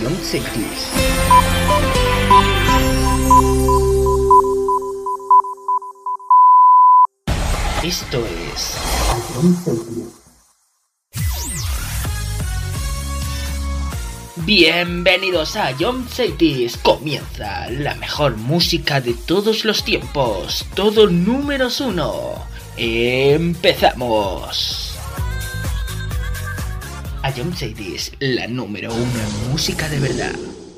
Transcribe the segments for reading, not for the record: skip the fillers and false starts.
Young Cities. Esto es Young Cities. Bienvenidos a Young Cities. Comienza la mejor música de todos los tiempos. Todo números 1. Empezamos. A Young Cities, la número 1 en música de verdad.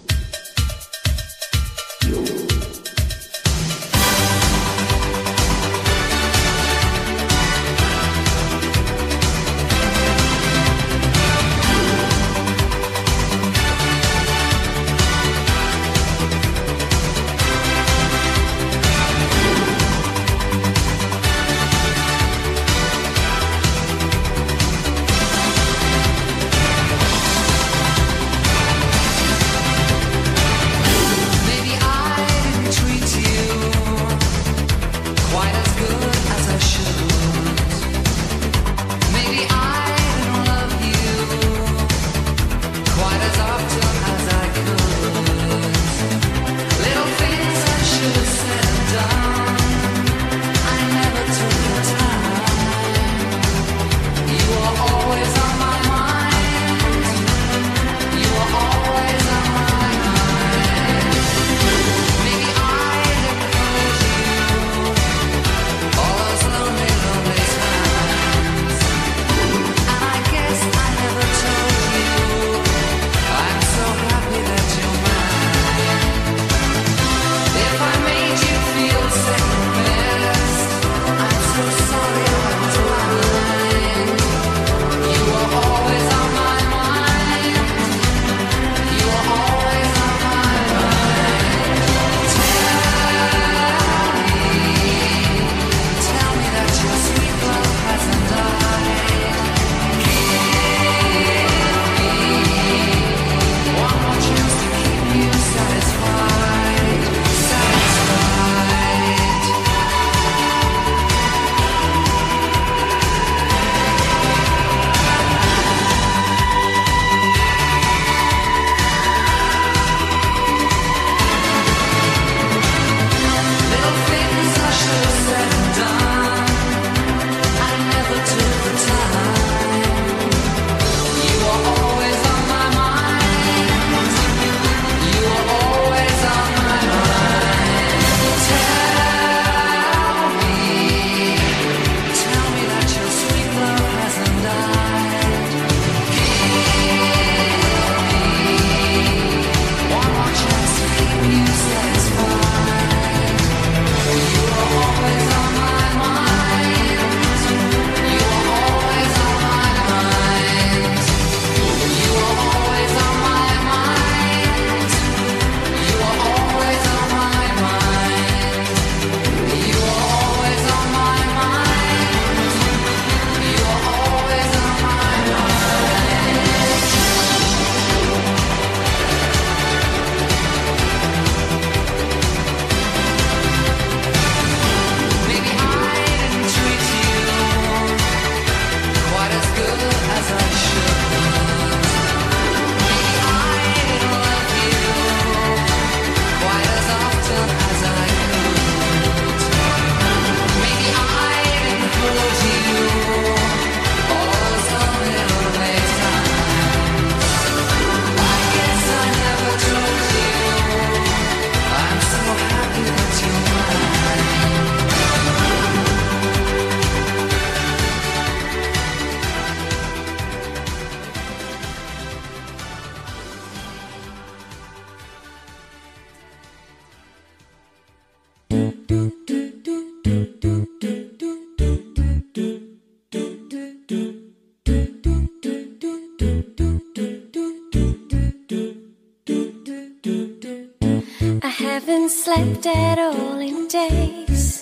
Haven't slept at all in days.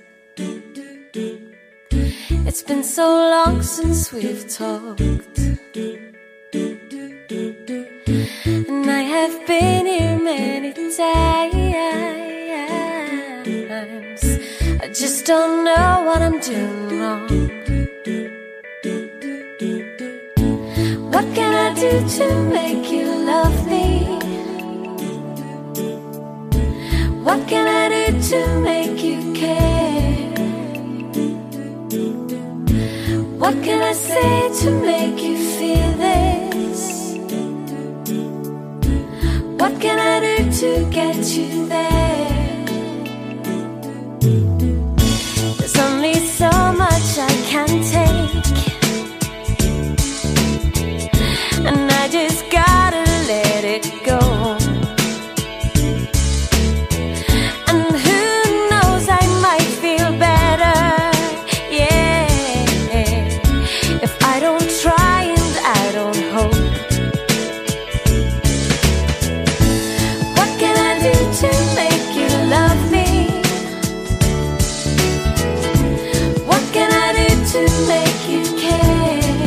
It's been so long since we've talked, and I have been here many times. I just don't know what I'm doing wrong. What can I do to make you love me? to make you care? What can I say to make you feel this? What can I do to get you there? There's only so much I can take, and I just gotta let it go. And who knows, I might feel better, yeah, if I don't try and I don't hope. What can I do to make you love me? What can I do to make you care?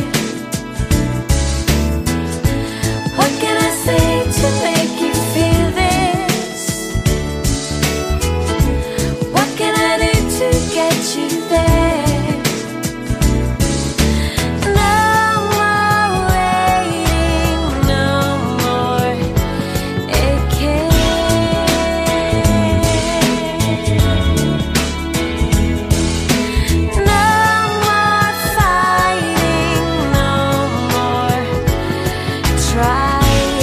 What can I say to make you feel this? What can I do to get you there? No more waiting, no more aching. No more fighting, no more trying.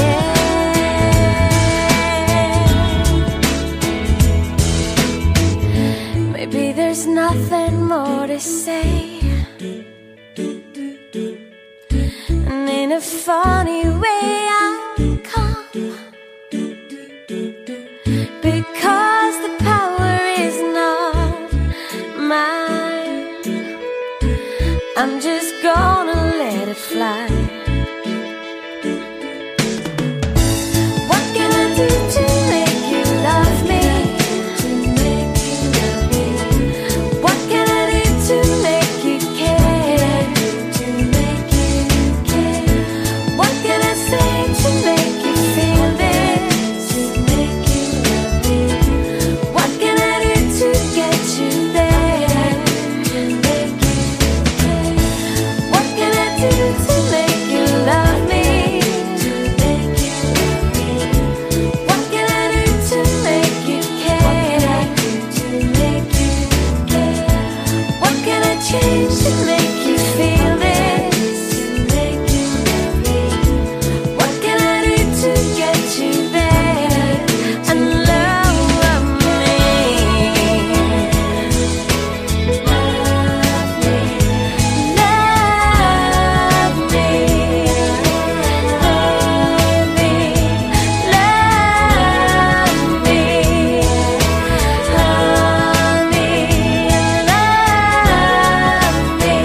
Maybe there's nothing more to say, and in a funny way I'll come, because the power is not mine. I'm just gonna let it fly. What can I do to make you love me? What can I do to make you care? What can I say to make you feel this? What can I do to get you there? What can I do to make you love me? What can I do to make you care? What can I change to make you feel this? What can I do to get you there and love me? Love me, love me, love me, love me, honey, love me,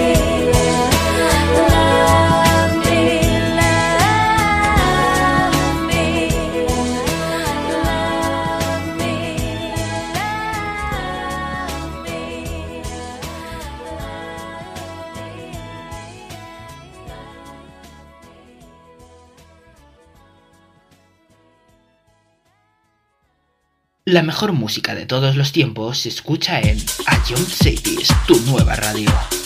love me, love me, La mejor música de todos los tiempos se escucha en Ion Cities, tu nueva radio.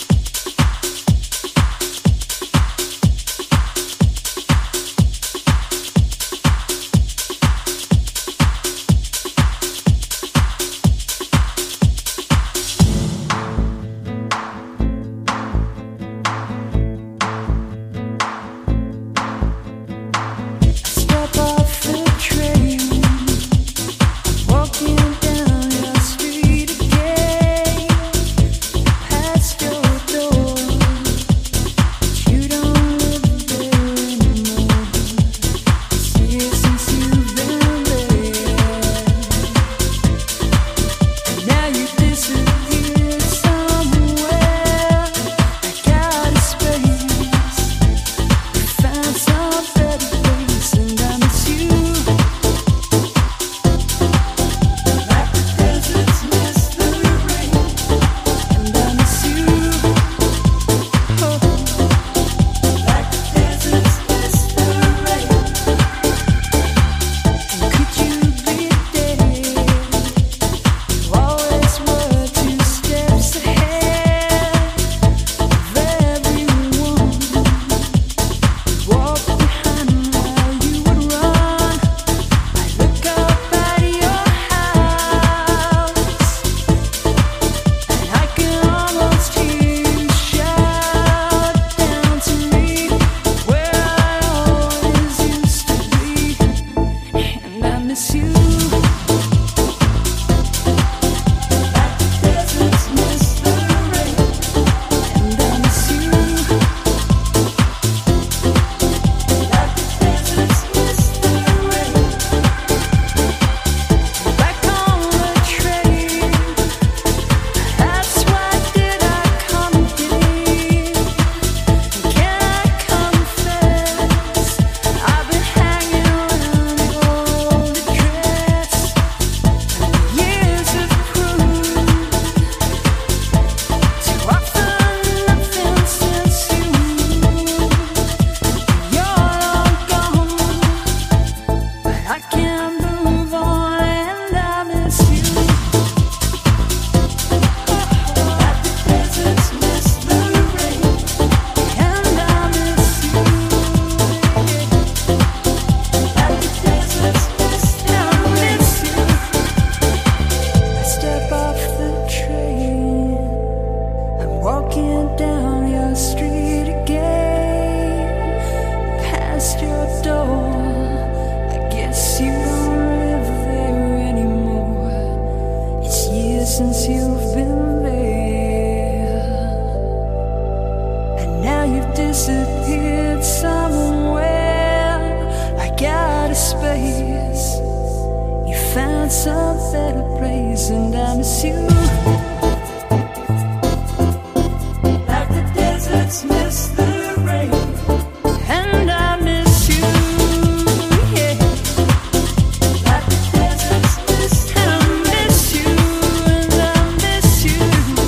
Step off the train, walking down your street again, past your some better praise, and I miss you. Like the deserts miss the rain, and I miss you, yeah. Like the deserts miss the rain, and I miss you, and I miss you.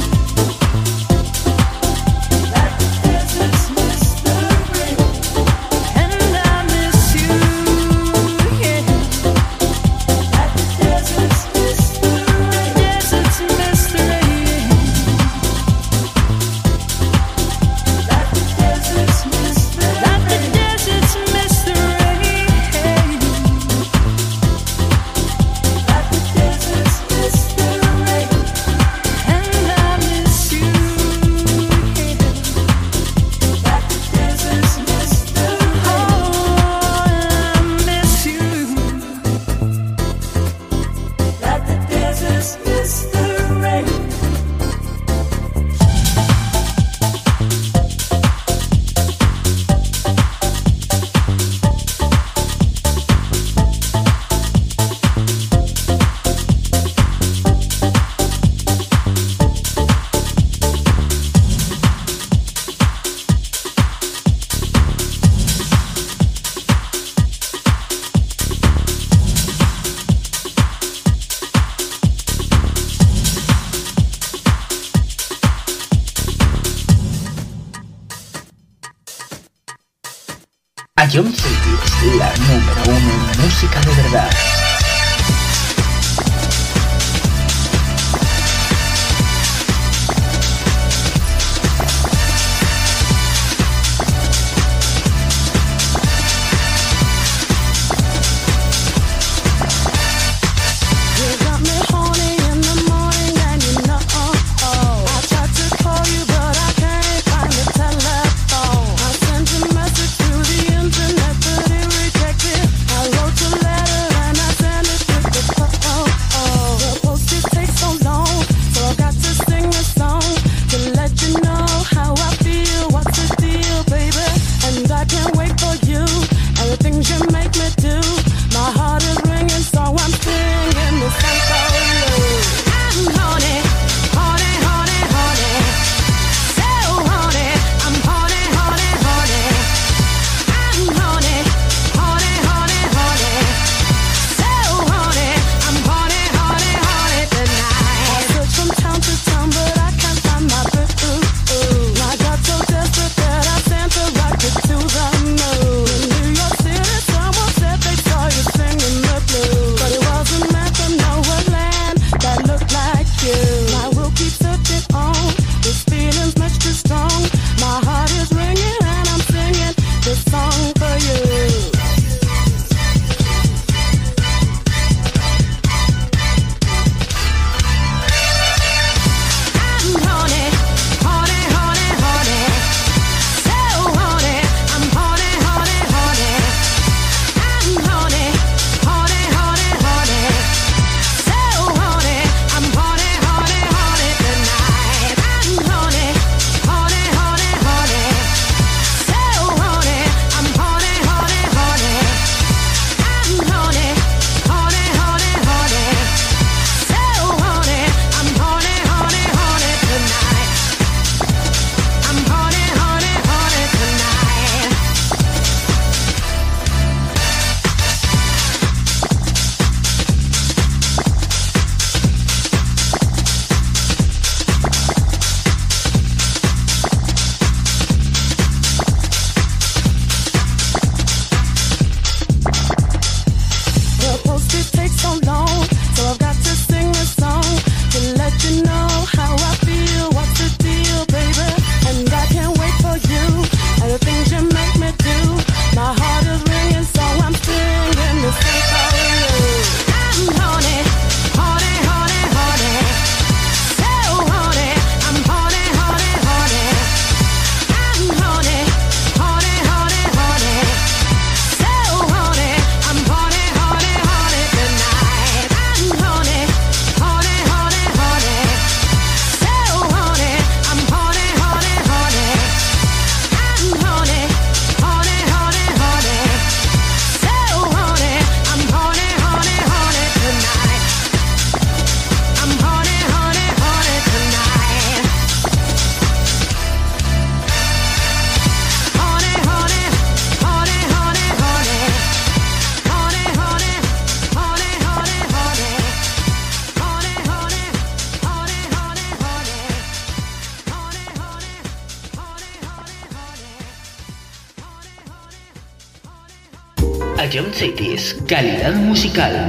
Like the deserts miss the rain, and I miss you, yeah. Like the deserts miss the rain, deserts miss the rain. Like the deserts miss the rain, like the deserts miss the rain. Like the deserts miss the rain, and I miss you, yeah. Like the deserts miss the rain, oh, I miss you. Like the deserts miss the rain. Ion City, la número uno en música de verdad. You got me horny in the morning, and you know I tried to call you, but I can't find the telephone. I sent a message through the internet, but it rejected. I wrote a letter and I sent it with the phone. The postage takes so long, so I got to sing a song to let you know how I feel. What's the deal, baby? And I can't wait for you and the things you make me do. My heart is ringing, so I'm singing this song for you. I'm horny, horny, horny, horny, so horny. I'm horny, horny, horny. I'm horny, horny, horny, horny, so horny. I'm horny, horny, horny tonight. I search from town to town, but I can't find my boo. I got so desperate that I sent a rocket to the moon. In New York City, someone said they saw you singing the blues, but it wasn't meant for nowhere land that looked like you. I will keep searching on. This feeling's much too strong. My heart is ringing and I'm singing this song for you. I'm horny, horny, horny, horny, so horny. I'm horny, horny, horny. I'm horny, horny, horny, horny, so horny. I'm horny, horny, horny tonight. I'm horny, horny, horny, horny, so horny. I'm horny, Sion Cities, calidad musical.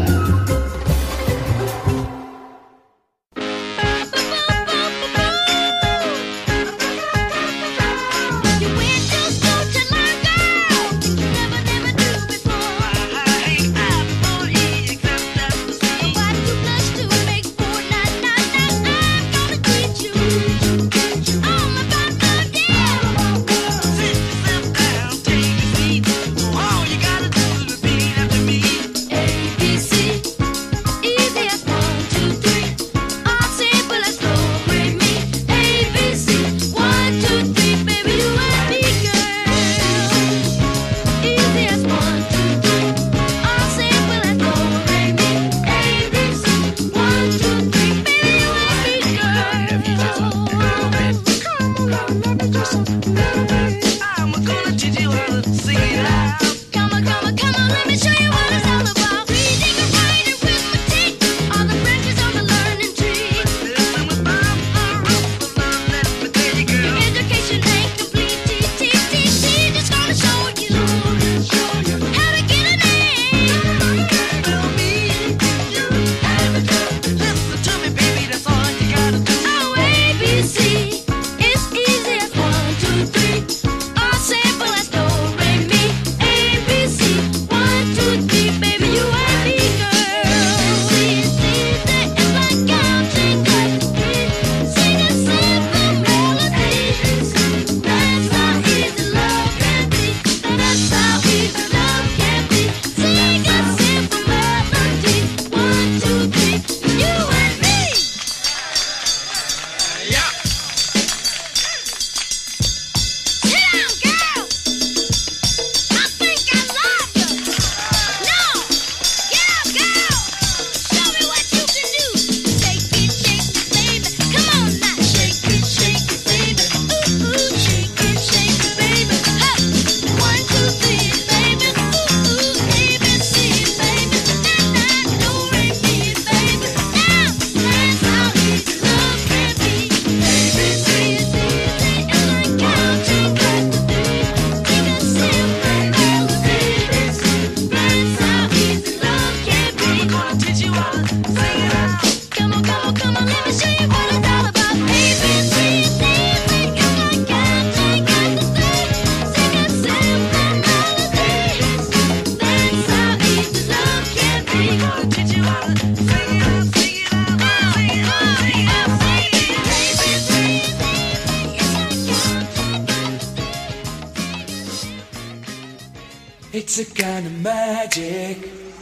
It's a kind of magic.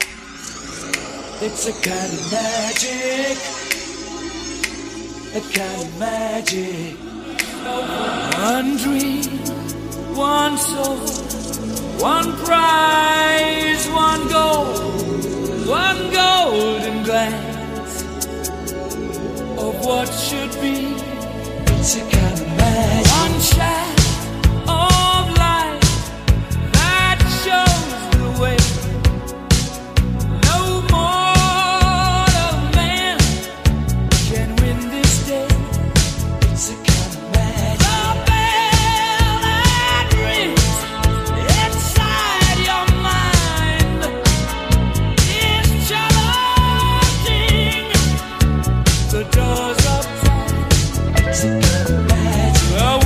It's a kind of magic. A kind of magic. One dream, one soul, one prize, one golden glance of what should be. It's a kind of magic. One shot of light that shows the way. No mortal man can win this day. It's a kind of magic. The bell that rings inside your mind is challenging the doors of time. It's a kind of magic.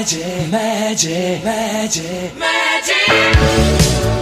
magic, magic, magic, magic.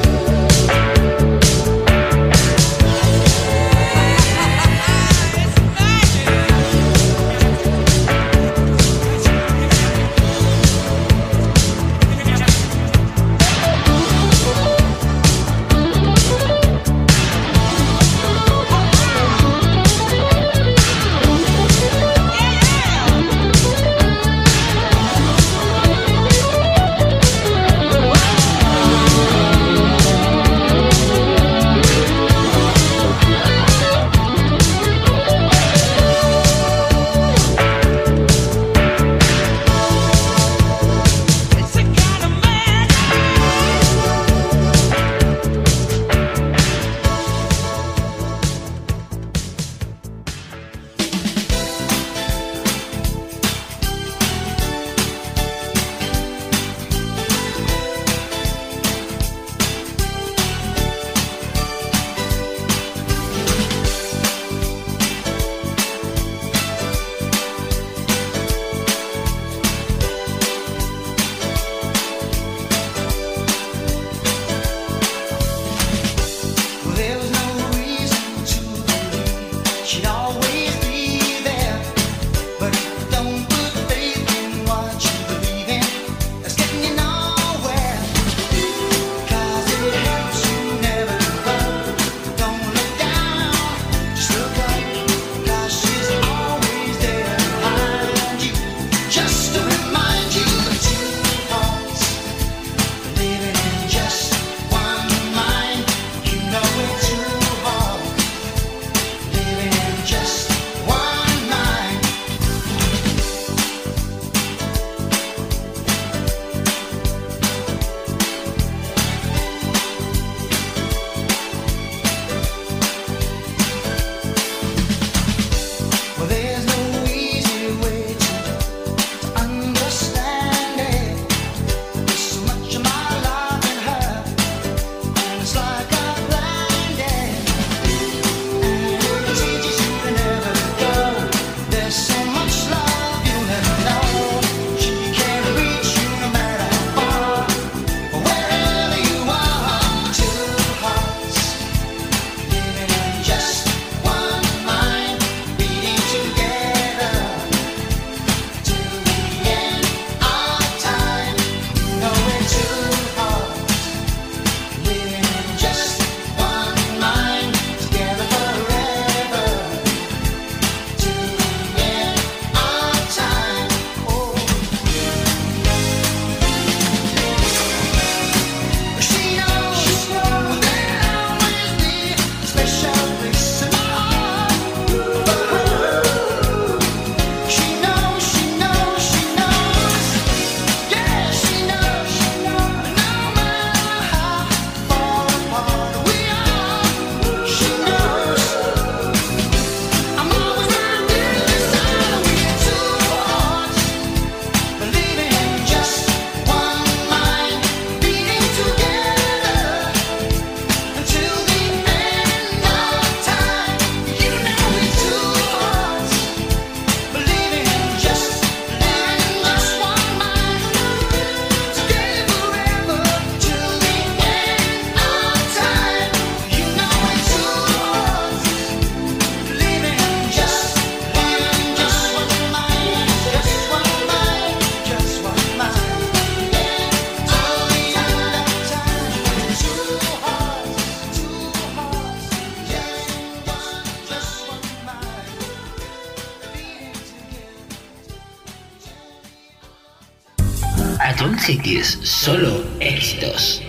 Ion Cities, solo éxitos.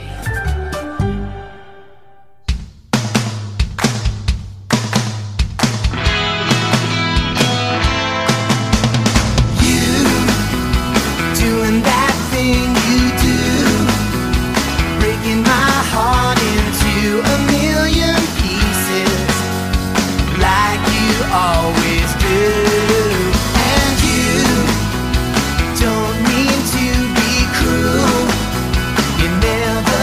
Never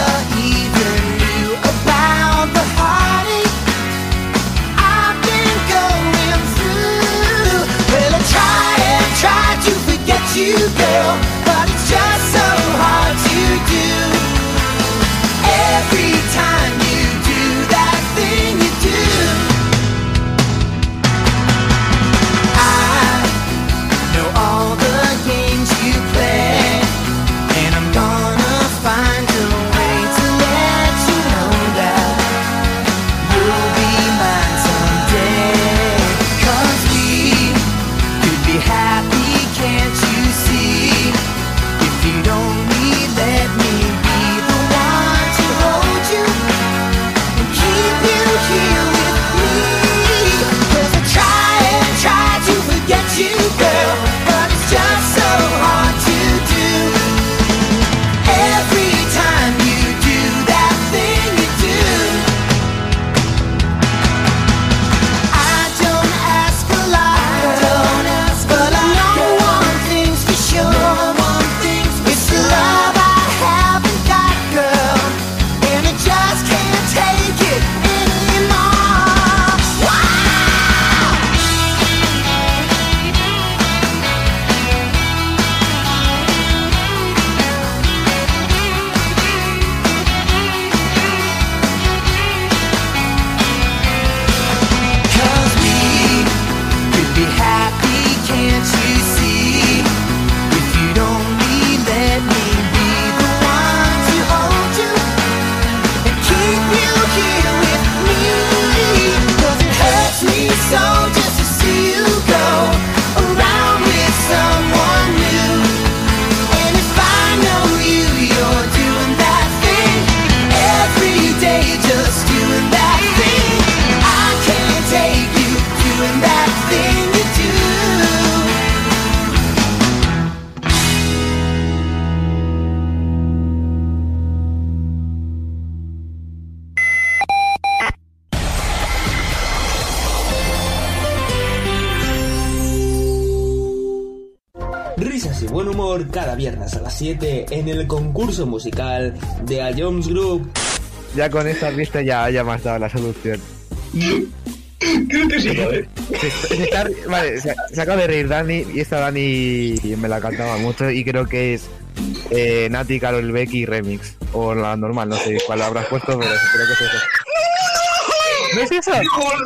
Risas y buen humor cada viernes a las 7 en el concurso musical de A Jones Group. Ya con esta pista ya me has dado la solución. Creo que sí, joder. Vale, se acaba de reír Dani, y esta Dani me la cantaba mucho y creo que es Nati, Karol Becky remix. O la normal, no sé cuál habrás puesto, pero creo que es eso. ¿No es eso?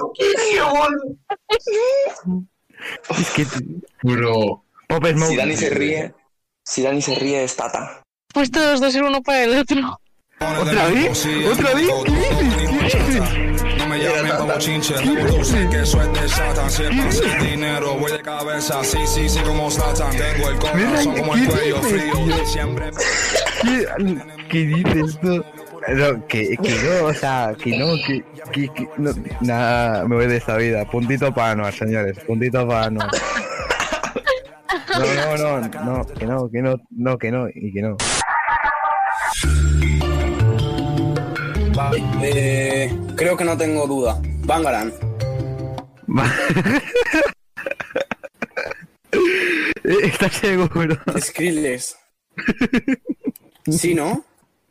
Es que... Bro. Pop Smoke. Si Dani se ríe es Tata. Pues todos dos ser uno para el otro. ¿Otra vez? ¿Otra vez? ¿Qué dices? No me llamen como chinche, tú sé que eso es de Satan. Siempre sin dinero, voy de cabeza, sí, como Satan. Tengo el corazón como el cuello frío, siempre. ¿Qué dices tú? No, que no, o sea, que no, no, nada, me voy de esta vida. Puntito para Anuar, señores, puntito para Anuar. No, que no, y que no. Vale, creo que no tengo duda. Bangaran. ¿Estás seguro? Skrillex. ¿Sí, no?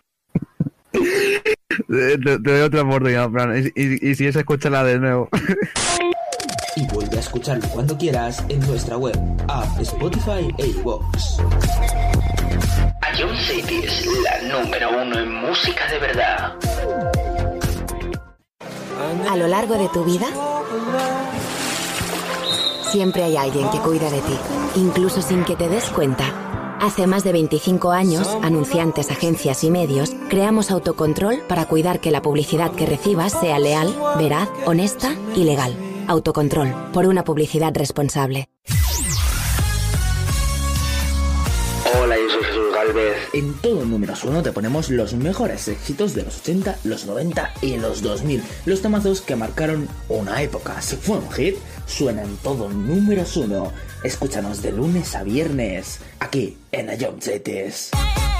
Te doy otra oportunidad, Fran. Y si es, escúchala de nuevo. Y vuelve a escucharlo cuando quieras en nuestra web, app, Spotify e iVoox. A Jones Cities, la número 1 en música de verdad. A lo largo de tu vida, siempre hay alguien que cuida de ti, incluso sin que te des cuenta. Hace más de 25 años, anunciantes, agencias y medios, creamos Autocontrol para cuidar que la publicidad que recibas sea leal, veraz, honesta y legal. Autocontrol, por una publicidad responsable. Hola, yo soy Jesús Galvez. En todo números 1 te ponemos los mejores éxitos de los 80, los 90 y los 2000. Los temazos que marcaron una época. Si fue un hit, suenan todo números 1. Escúchanos de lunes a viernes, aquí en A Jones Cities.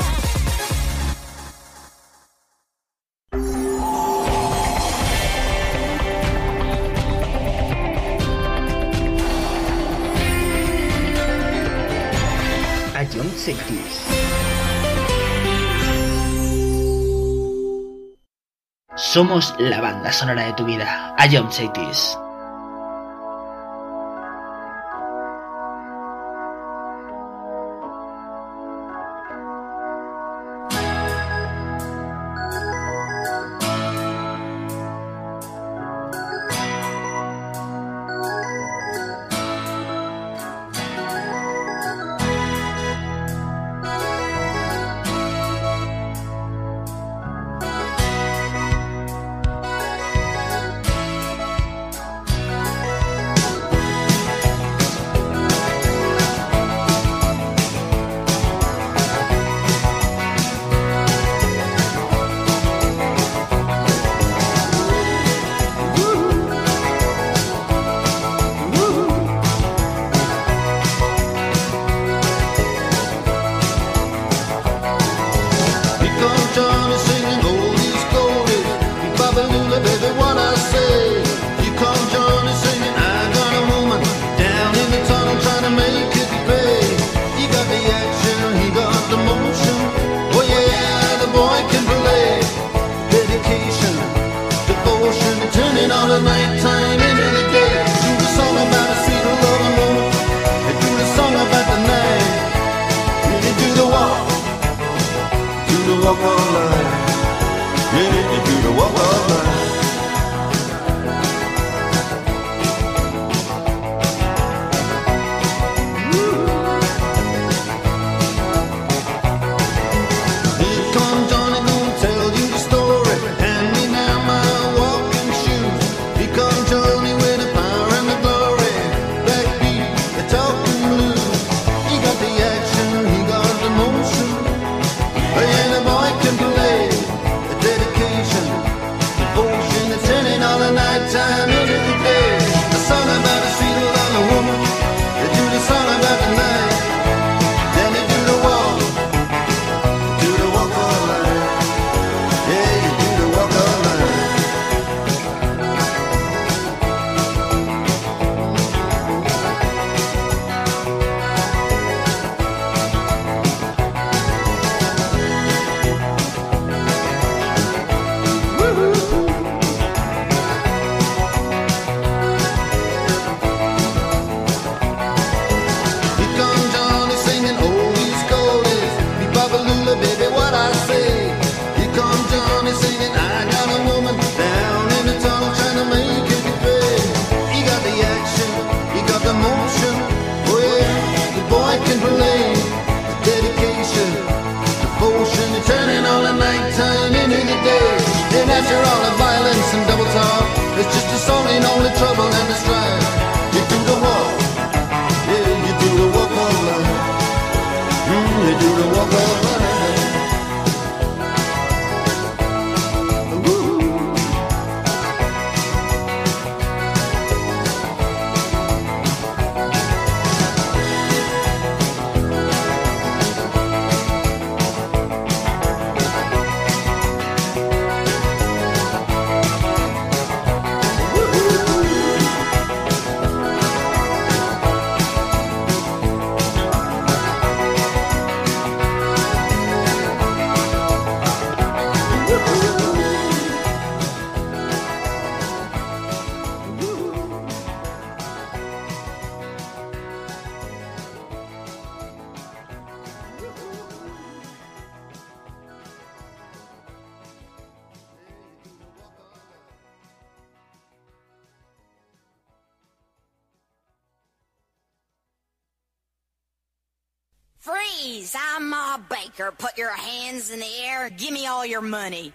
A Jones Cities. Somos la banda sonora de tu vida. A Jones Cities. Dedication, devotion. And after all the violence and double talk, it's just a song ain't only trouble and the strife. You do the walk, yeah, you do the walk of life. You do the walk of life. Freeze! I'm Ma Baker. Put your hands in the air. Give me all your money.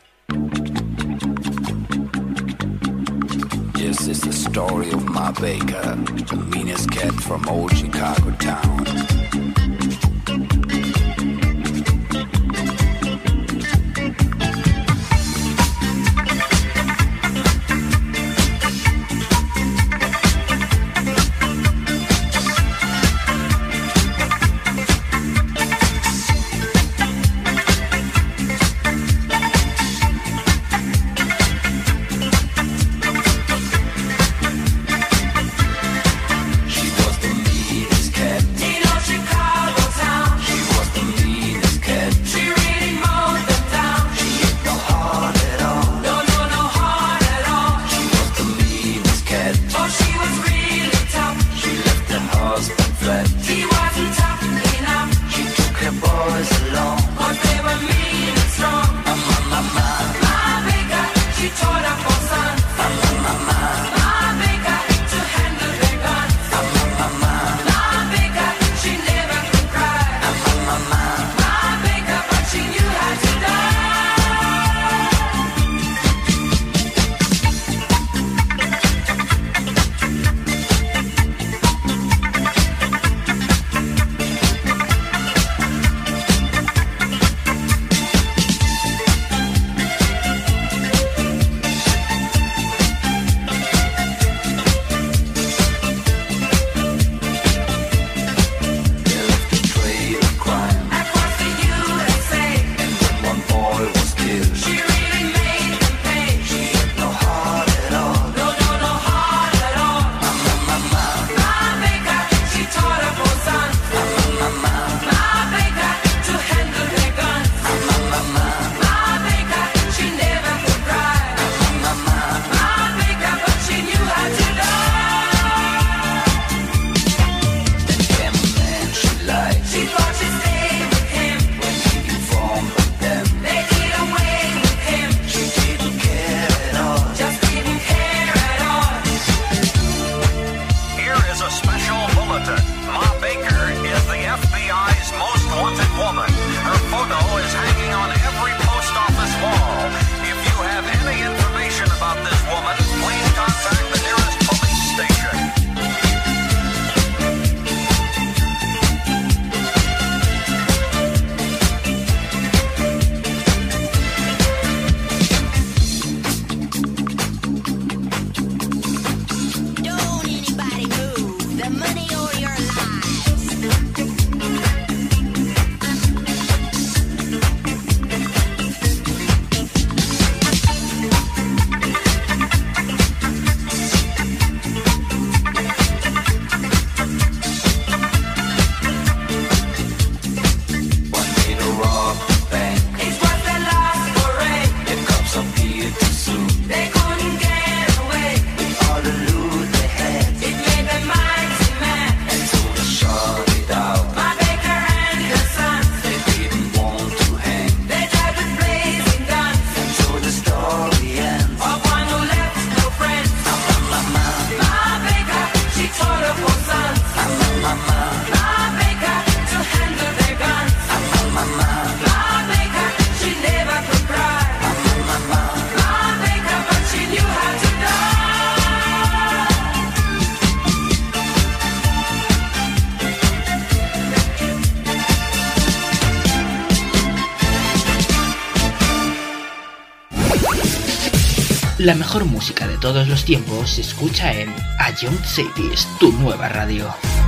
This is the story of Ma Baker, the meanest cat from old Chicago town. Chicago. La mejor música de todos los tiempos se escucha en A Young Cities, tu nueva radio.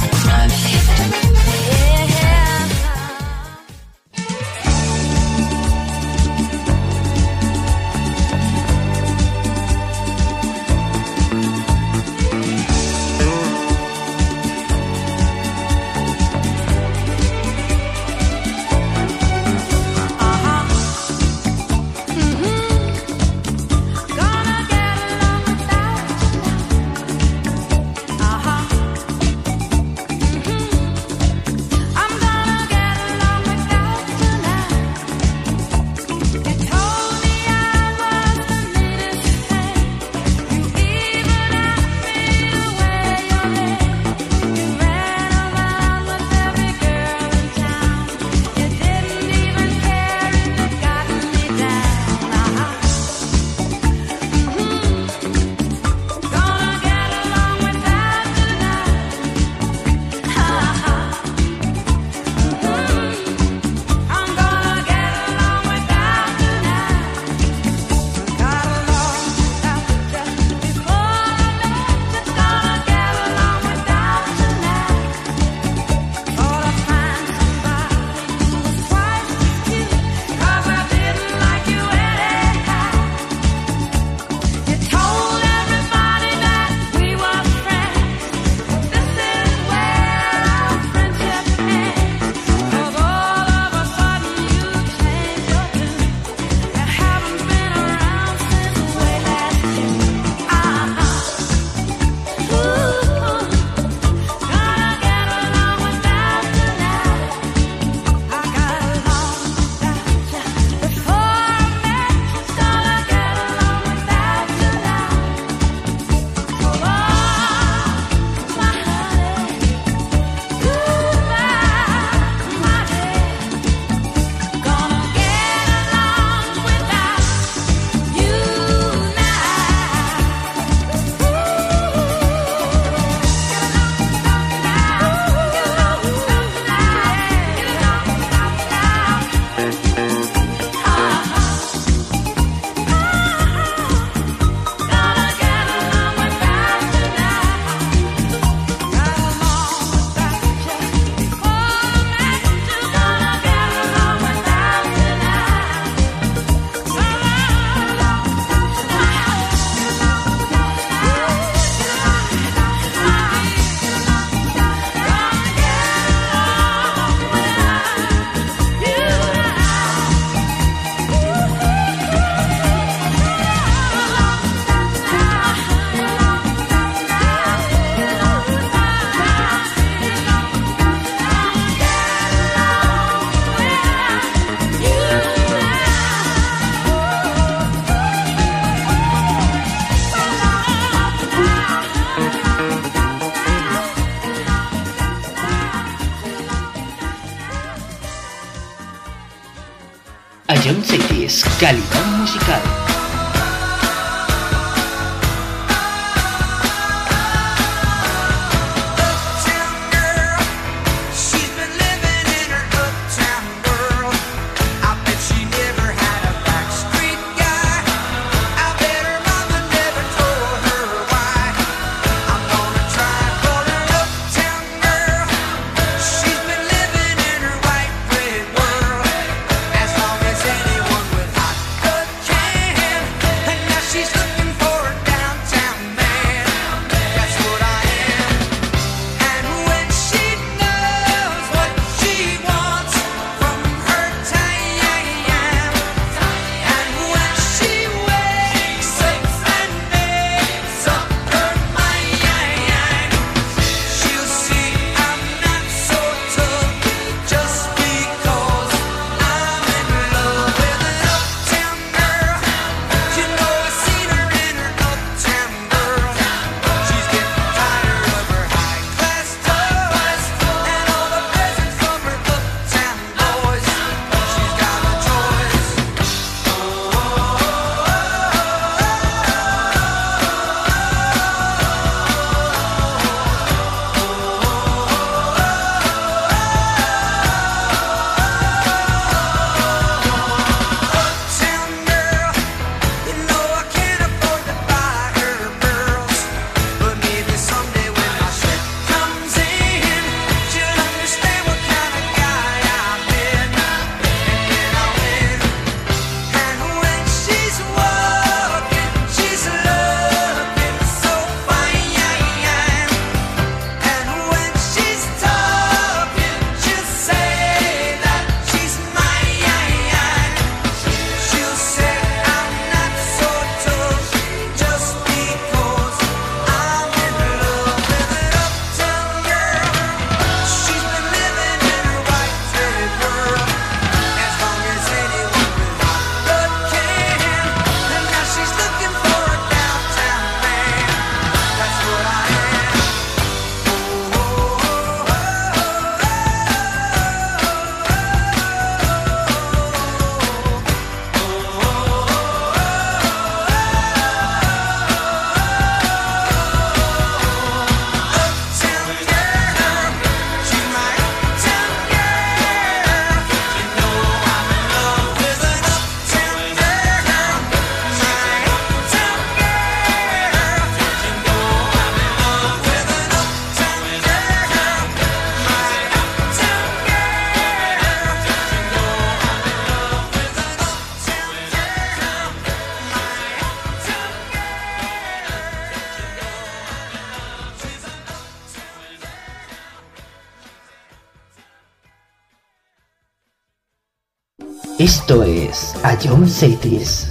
A Young Cities, calidad musical. As long as anyone with hot good can Esto es A John Cities.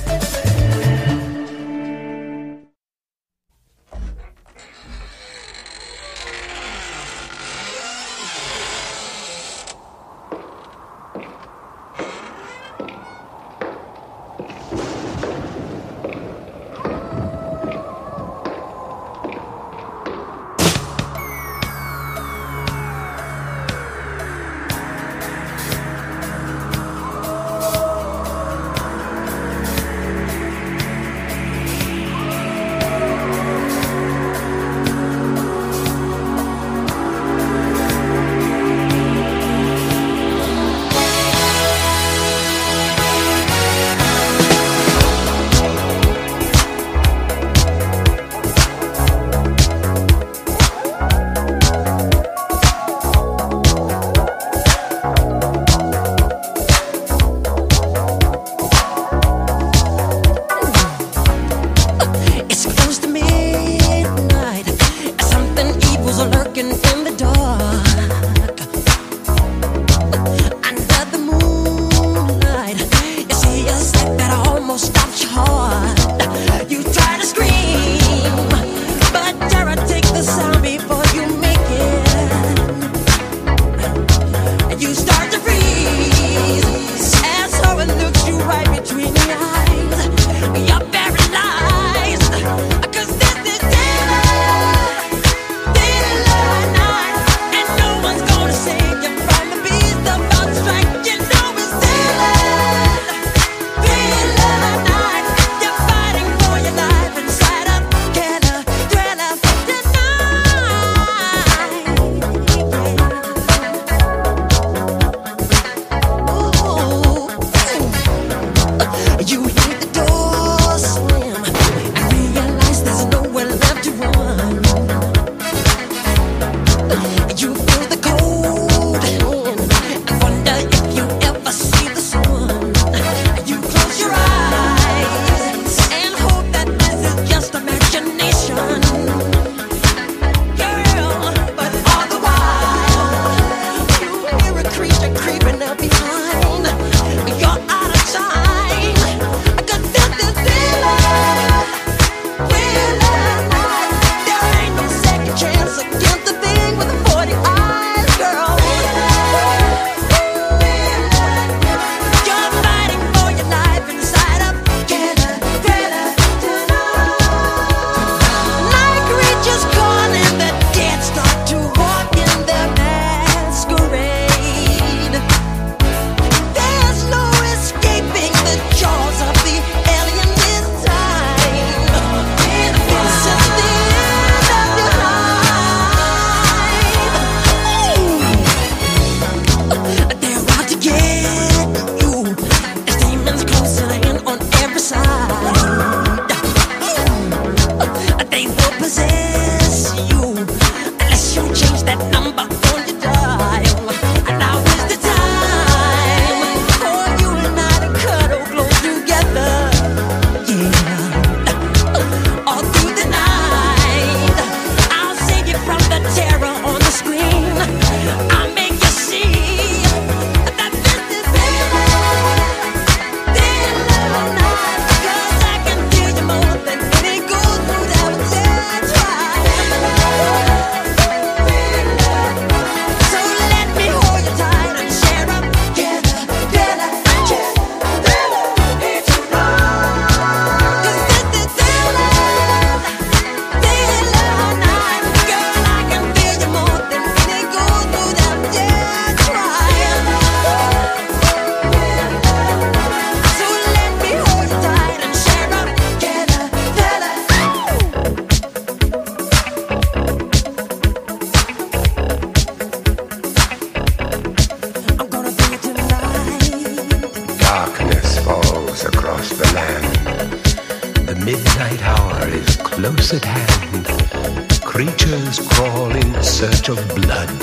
midnight hour is close at hand. Creatures crawl in search of blood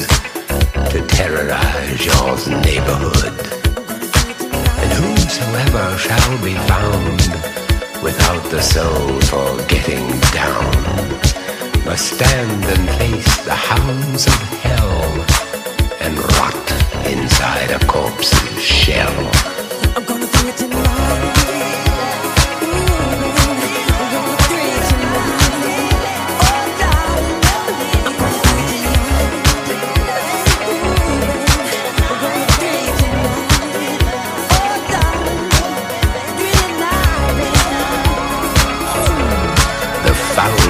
to terrorize your neighborhood. And whosoever shall be found without the soul for getting down must stand and face the hounds of hell and rot inside a corpse's shell.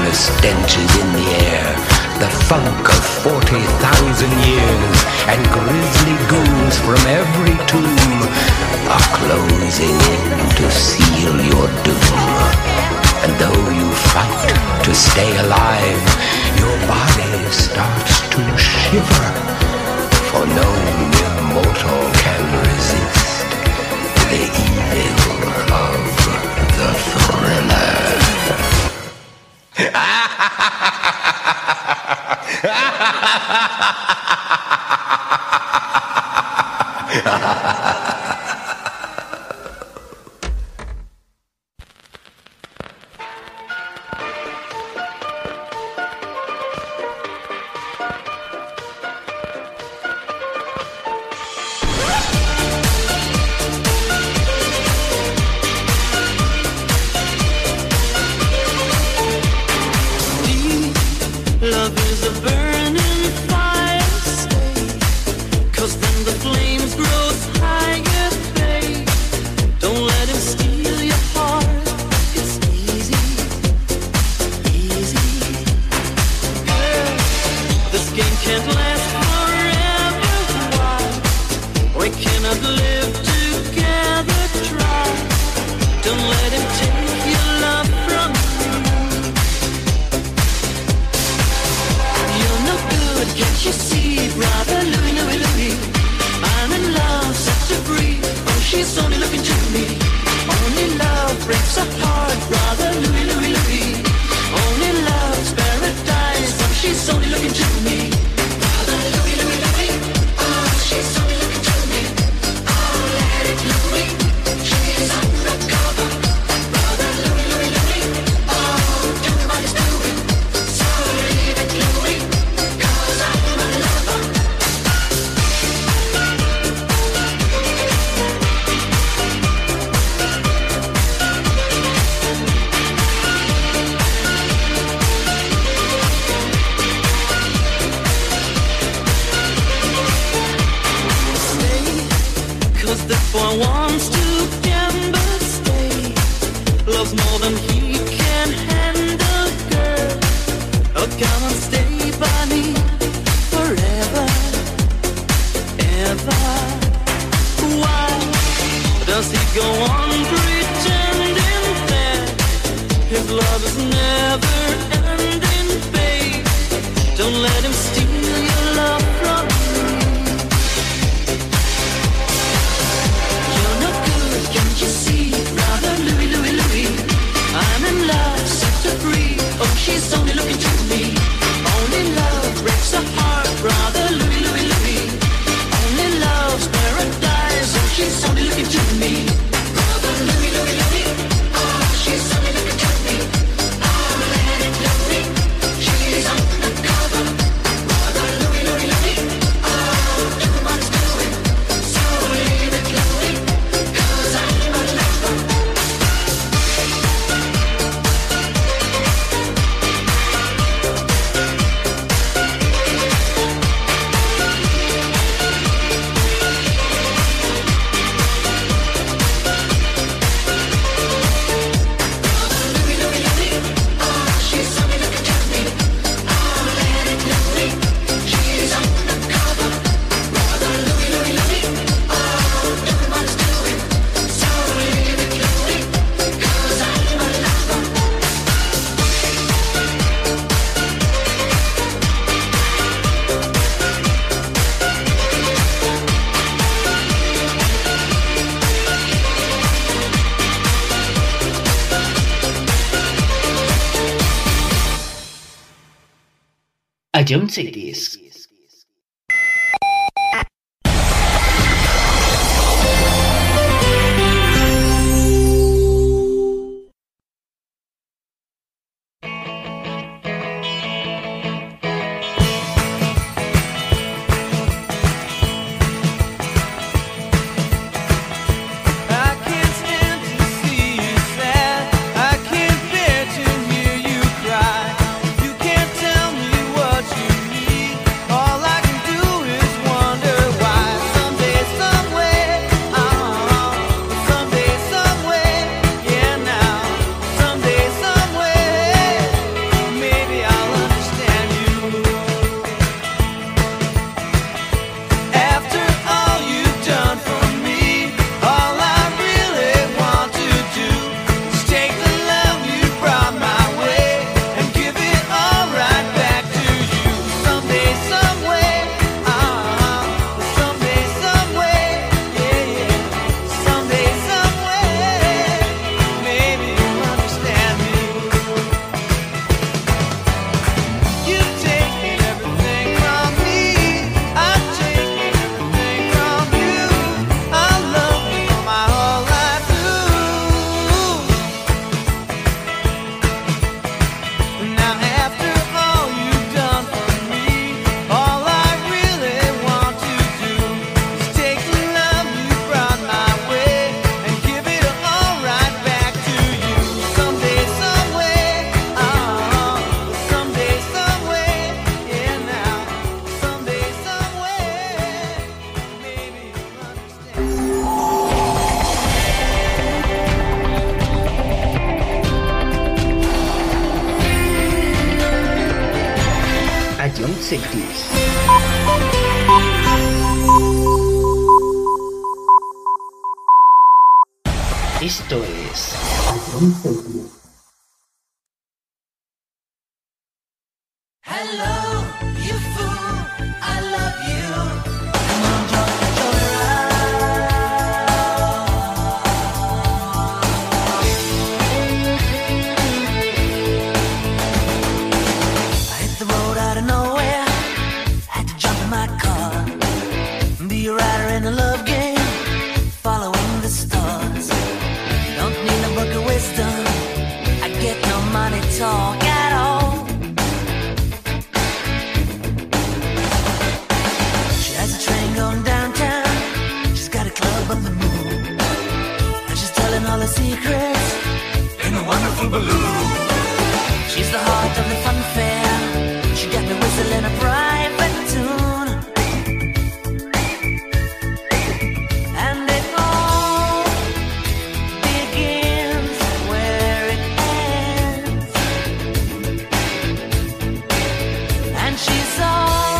the stenches in the air, the funk of 40,000 years, and grisly goons from every tomb are closing in to seal your doom. And though you fight to stay alive, your body starts to shiver, for no mere mortal can resist the evil of the thriller. Love is a burning fire, stay, 'cause then the flames grow higher, babe. Don't let him steal your heart, it's easy, easy. Girl, this game can't last forever, why? We cannot live together, try. Don't let him take your love from you. Can't you see, brother Louie, Louie, Louie? I'm in love, set to free. Oh, she's only looking to me. Only love breaks a heart, brother Louie, Louie, Louie. Only love's paradise. Oh, she's only looking to me. Brother Louie, Louie, Louie. Oh, she's only looking to me. Oh, let it Louie. She's undercover. Brother Louie, Louie, Louie. Oh, do what it's doing. So leave it, Louie. This boy wants to gamble, stay. Loves more than he can handle, girl. Oh, come and stay by me forever, ever. Why does he go on pretending that his love is never ending, babe? Don't let him steal your love from me. Can't you see, brother Louie, Louie, Louie? I'm in love, set to free. Oh, she's only looking to me. Only love breaks a heart, brother Louie, Louie, Louie. Only love's paradise. Oh, she's only looking to me. Brother Louie, Louie, Louie. Oh, she's only looking to me. Oh, let it Louie. She's undercover. Brother Louie, Louie, Louie. Oh, do what it's doing. So leave it, Louie. A John Cities. Cry. You can't tell me what you need. 80s. Esto es Hello, you fool, I love you. Come on, join the joyride. I hit the road out of nowhere, had to jump in my car, be a rider in a love game, following the stars. Don't need a book of wisdom, I get no money talk at all. Going downtown, she's got a club on the moon, and she's telling all her secrets in a wonderful balloon. She's the heart of the fun fair, she got me whistling a private tune, and it all begins where it ends, and she's all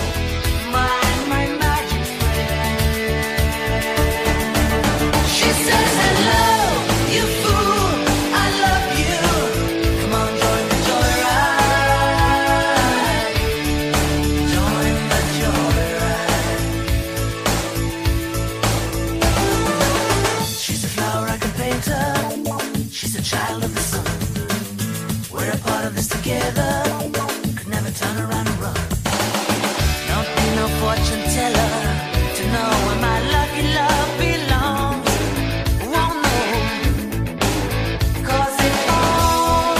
child of the sun. We're a part of this together. Could never turn around and run. Don't need no fortune teller to know where my lucky love belongs. Won't know, 'cause it all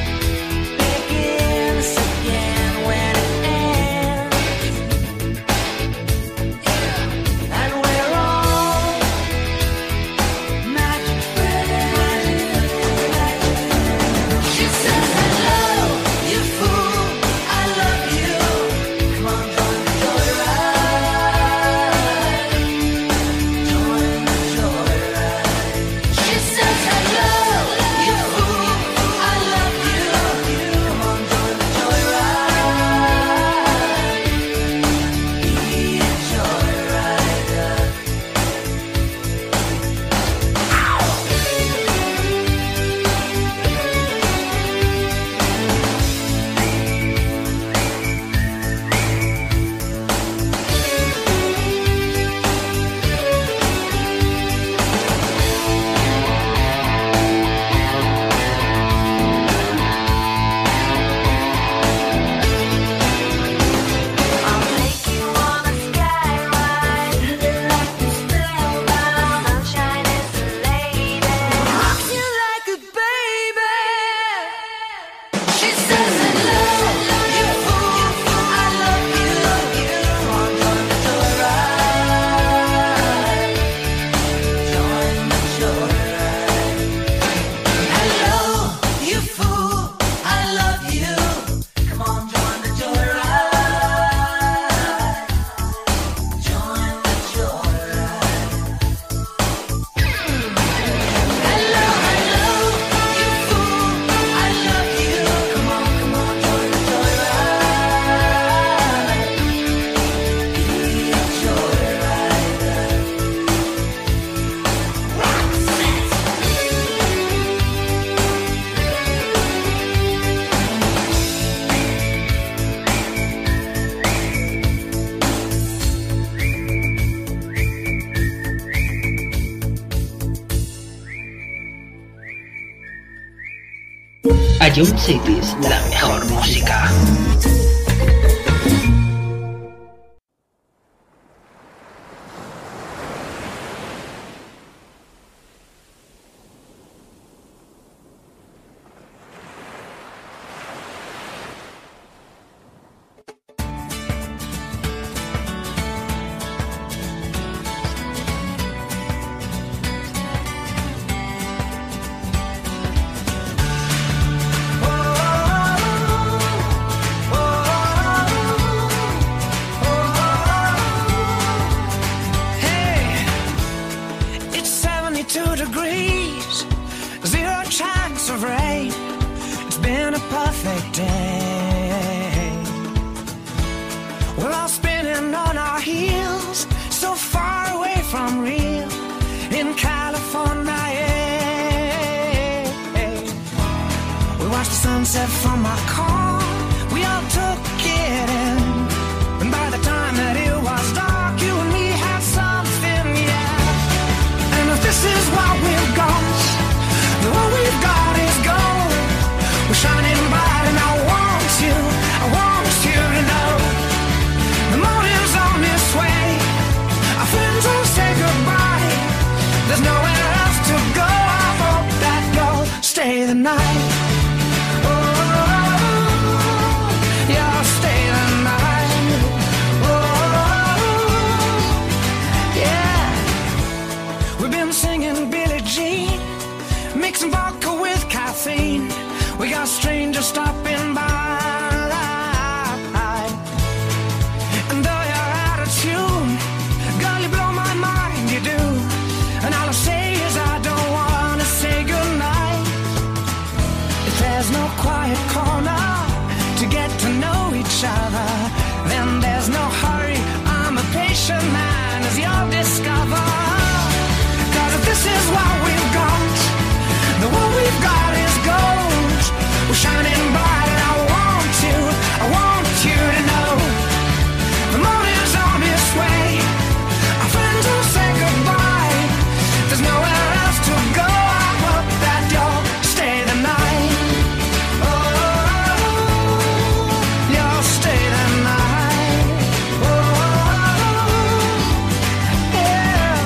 begins again when it ends. Yeah. And we're all magic friends. She says hello, you fool, I love you. Come on, join the joyride. Join the joyride. She says hello, you fool, I love you. Come on, join the joyride. Be a joyrider. I'll take you on a sky ride. Like the spellbound sunshine is the lady. Rocks you like a baby. She says hello, you fool, I love you. Come on, join the joyride. Join the joyride. Hello, you fool, I love you. Come on, join the joyride. Join the joyride. Hello, hello, you fool, I love you. Come on, join the joyride. Be a joyrider. A Young Cities, la mejor música. It's 72 degrees, 0 chance of rain. It's been a perfect day. We watched the sunset from our car. We all took it in. And by the time that it was dark, you and me had something, yeah. And if this is what we've got, then what we've got is gold. We're shining bright and I want you to know. The morning's on its way. Our friends will say goodbye. There's nowhere else to go. I hope that you'll stay the night. Mixing vodka with caffeine. We got strangers stopping by. And though you're out of tune, girl, you blow my mind, you do. And all I say is I don't wanna say goodnight. If there's no quiet corner to get to know each other, then there's no hurry. I'm a patient man, as you'll discover. 'Cause if this is what we've got, the what we've got is gold. We're shining bright and I want you to know. The morning's on its way. Our friends will say goodbye. There's nowhere else to go. I hope that you'll stay the night. Oh, you'll stay the night. Oh, yeah.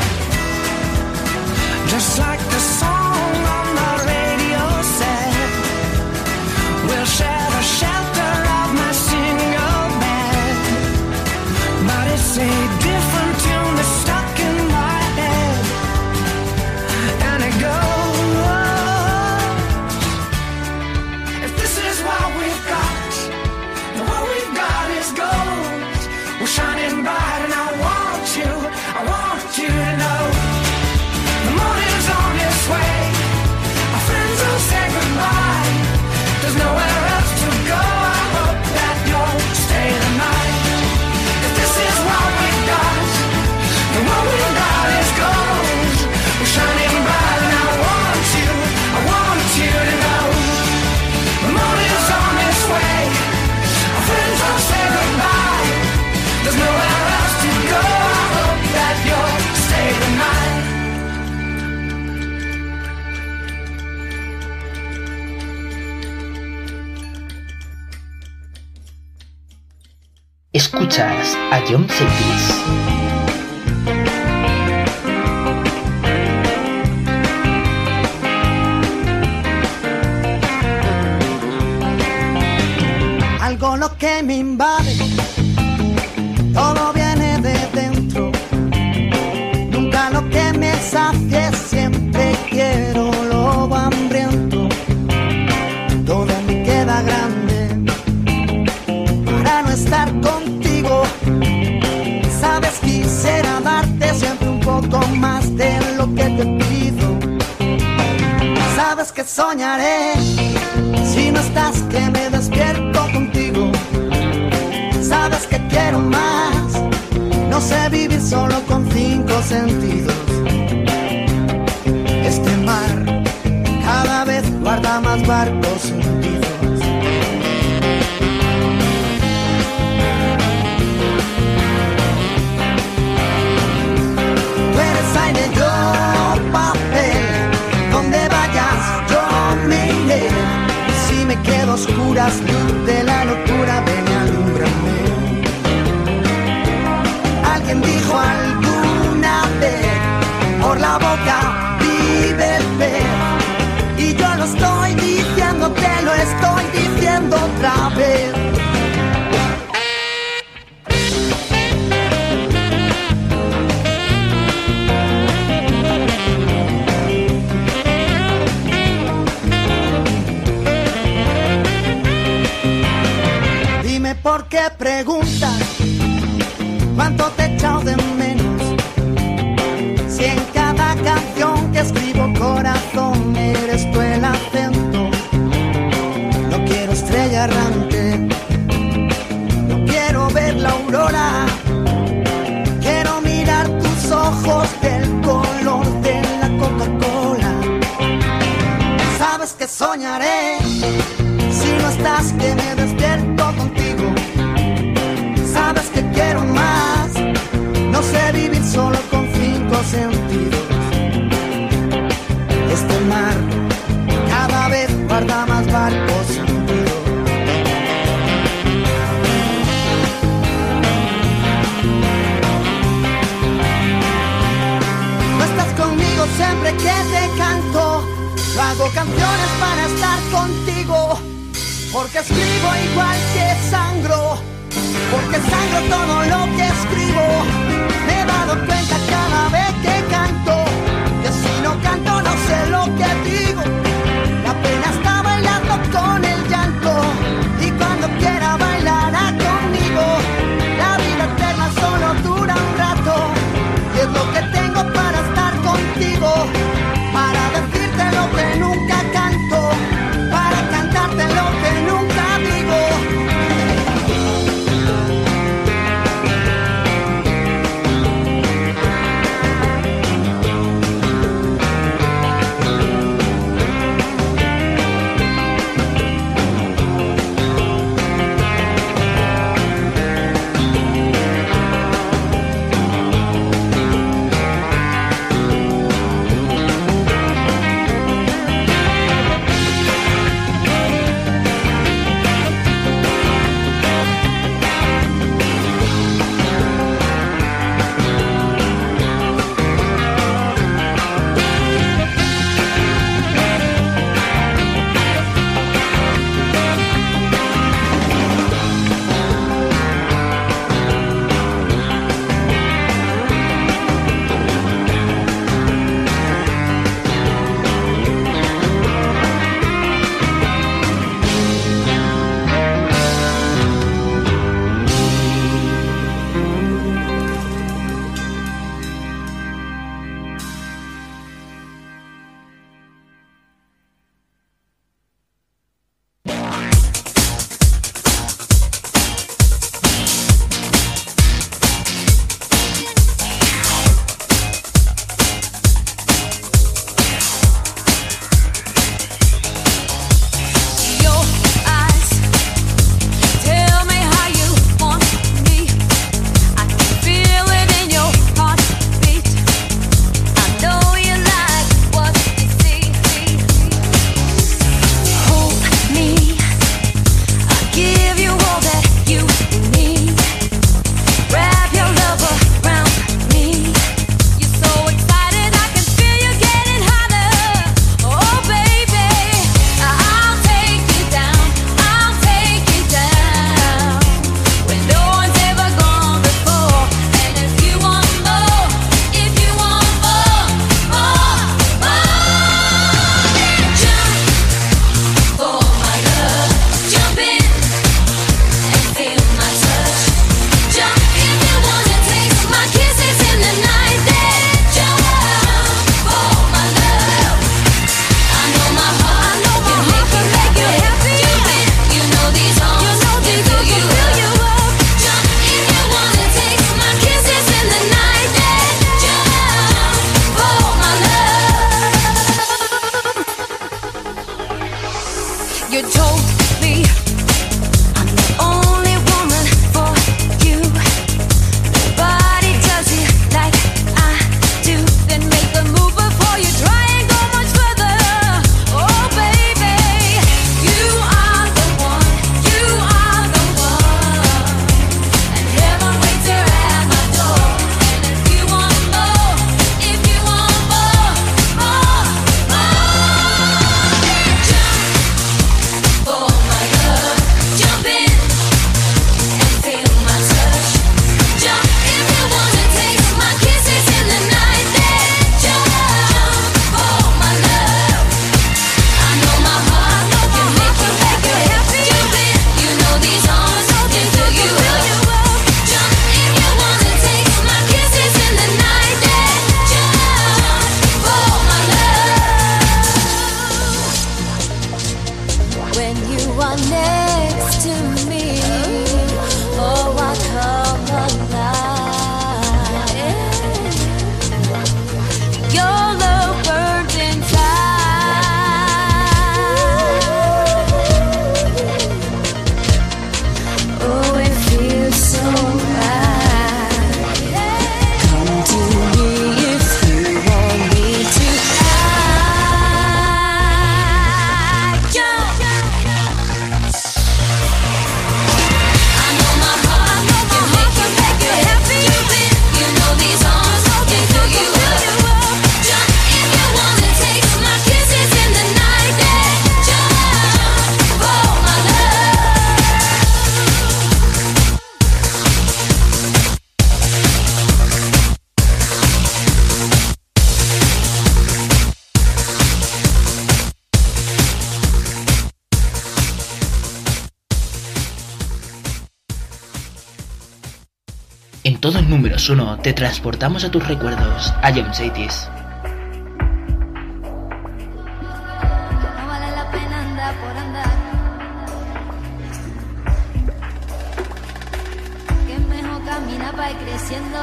Just like the song on the radio said, we'll share the shelter of my single bed. But it's a different tune that's stuck in my head. And it goes, if this is what we've got, then what we've got is gold. We're shining bright and I want you to know. The morning's on its way. Our friends will say goodbye. There's nowhere else to go. I hope that you'll stay the night. If this is what we've got, then what we've got is gold. We're shining bright and I want you to know. The morning's on its way. Our friends will say goodbye. There's nowhere else to go. I hope that you'll stay the night. Escuchas a John Cetis. Algo lo que me invade, todo viene de dentro. Nunca lo que me sacie, siempre quiero lo hambriento. Todo me queda grande para no estar contigo. Sabes, quisiera darte siempre un poco más de lo que te pido. Sabes que soñaré si no estás, que me despierto contigo. Sabes que quiero más, no sé vivir solo con 5 sentidos. Este mar cada vez guarda más barcos hundidos. Tú eres aire, yo papel, donde vayas yo me iré. Y si me quedo a oscuras, luz de la locura, ven y alúmbrame. Alguien dijo alguna vez, por la boca vive el pez. Y yo lo estoy diciendo, te lo estoy diciendo otra vez. Dime por qué preguntas cuánto te he echado de menos. Si en cada canción que escribo, corazón, eres tú el acento. No quiero estrella errante, no quiero ver la aurora. Quiero mirar tus ojos del color de la Coca-Cola. Sabes que soñaré más que me despierto contigo. Sabes que quiero más. No sé vivir solo con 5 sentidos. Este mar cada vez guarda más barcos hundidos. No estás conmigo siempre que te canto. Yo hago canciones para estar contigo. Porque escribo igual que sangro. Porque sangro todo lo que escribo. Me he dado cuenta cada vez que canto que si no canto no sé lo que digo. La pena está bailando con el llanto. Y cuando quiera bailará conmigo. La vida eterna solo dura un rato. Y es lo que tengo para estar contigo. Para decirte lo que nunca canto. Para cantarte lo que nunca digo. En todos números 1 te transportamos a tus recuerdos, a Jump Cities. No vale la pena andar por andar. Que es mejor caminar para ir creciendo.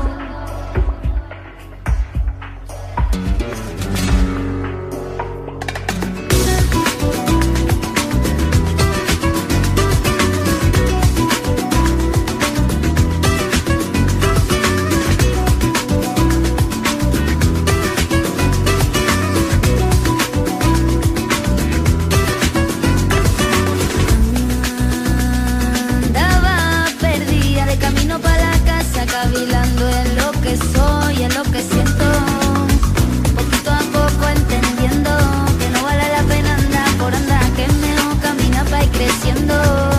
Andaba perdida de camino para la casa, cavilando en lo que soy, en lo que siento. Poquito a poco entendiendo que no vale la pena andar por andar, que es mejor caminar para ir creciendo.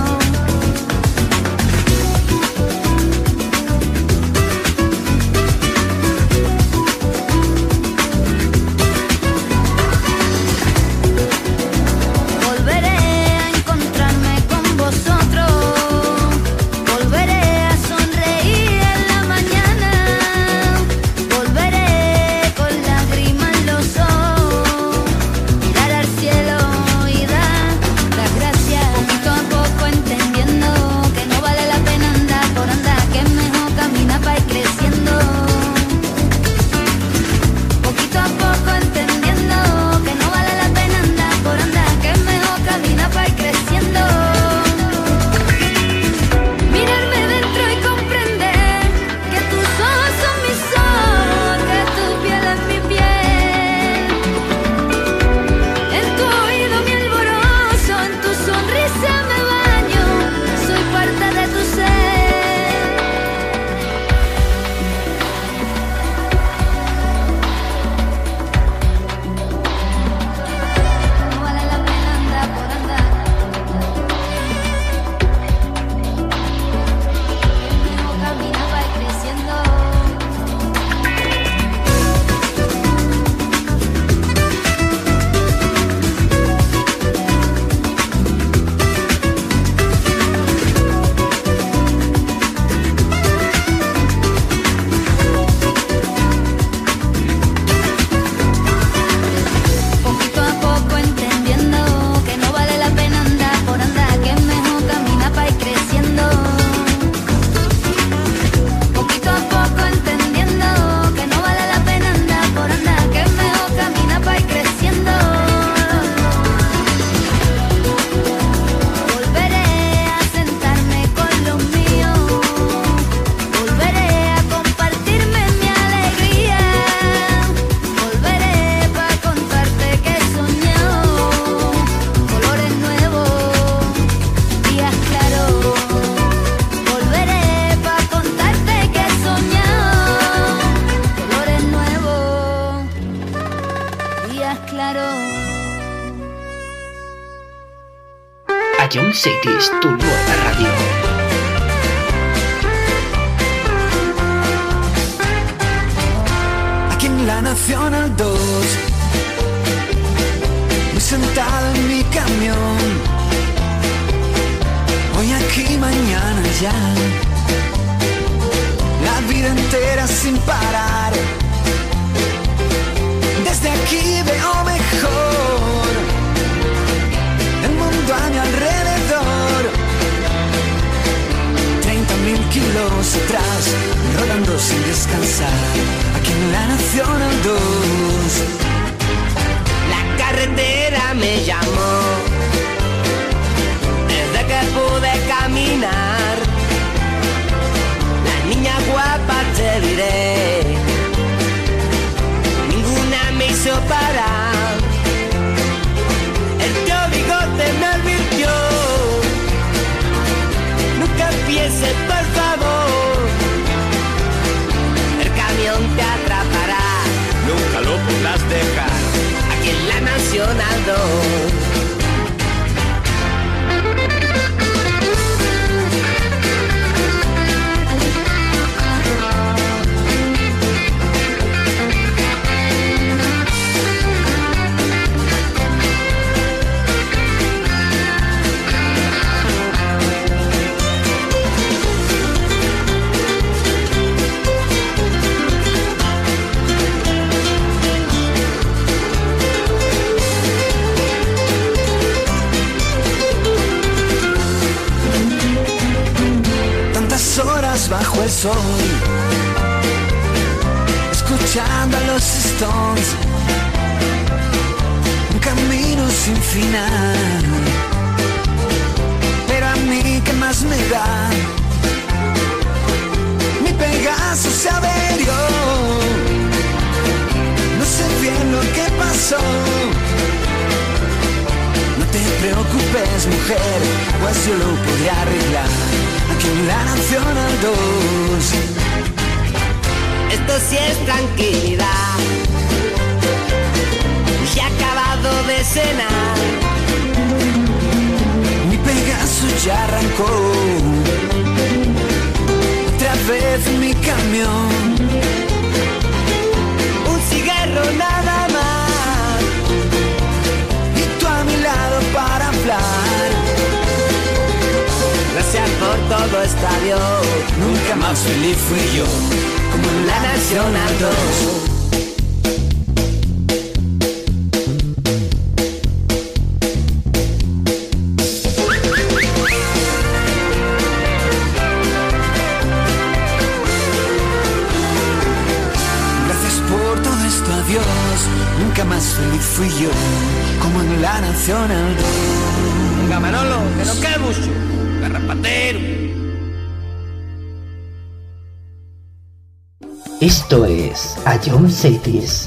Volveré a encontrarme con vosotros, volveré a sonreír en la mañana, volveré con lágrimas en los ojos, mirar al cielo y dar las gracias. Poquito a poco entendiendo que no vale la pena andar por andar, que es mejor caminar para ir creciendo. Poquito a poco entendiendo que no vale la pena andar por andar, que es mejor caminar para ir creciendo. Mirarme dentro y comprender que tus ojos son mis ojos, que tu piel es mi piel. En tu oído mi alborozo, en tu sonrisa me baño, soy parte de tu ser. No vale la pena andar por andar, mejor caminar para ir creciendo. Poquito a poco entendiendo que no vale la pena andar por andar, que es mejor caminar para ir creciendo. Poquito a poco entendiendo que no vale la pena andar por andar, que es mejor caminar para ir creciendo. Volveré a sentarme con los míos, volveré a compartirme mi alegría, volveré para contarte que he soñado colores nuevos, días claros. Volveré para contarte que he soñado colores nuevos, días claros. A Jump Cities, tu nueva radio. Aquí en la Nacional 2, muy sentado en mi camión, hoy aquí, mañana allá, la vida entera sin parar. Desde aquí veo mejor el mundo a mi alrededor. 30.000 kilos atrás, rodando sin descansar, aquí en la Nacional 2. La carretera me llamó, desde que pude caminar. La niña guapa te diré, ninguna me hizo parar. El tío Bigote me advirtió, nunca empieces por favor, el camión te atrapará. Nunca bajo el sol, escuchando a los Stones, un camino sin final. Pero a mí ¿qué más me da? Mi Pegaso se averió, no sé bien lo que pasó. No te preocupes, mujer, pues yo lo podré arreglar aquí en la Nacional 2. Esto sí es tranquilidad. Ya he acabado de cenar. Mi Pegaso ya arrancó otra vez en mi camión. Un cigarro nada más y tú a mi lado para hablar. Gracias por todo, está Dios. Nunca más feliz fui yo como en la Nacional 2. Nunca más feliz fui yo como en la Nacional 2. Venga, Manolo, que no quede mucho. Garrapatero. Esto es A John Cities.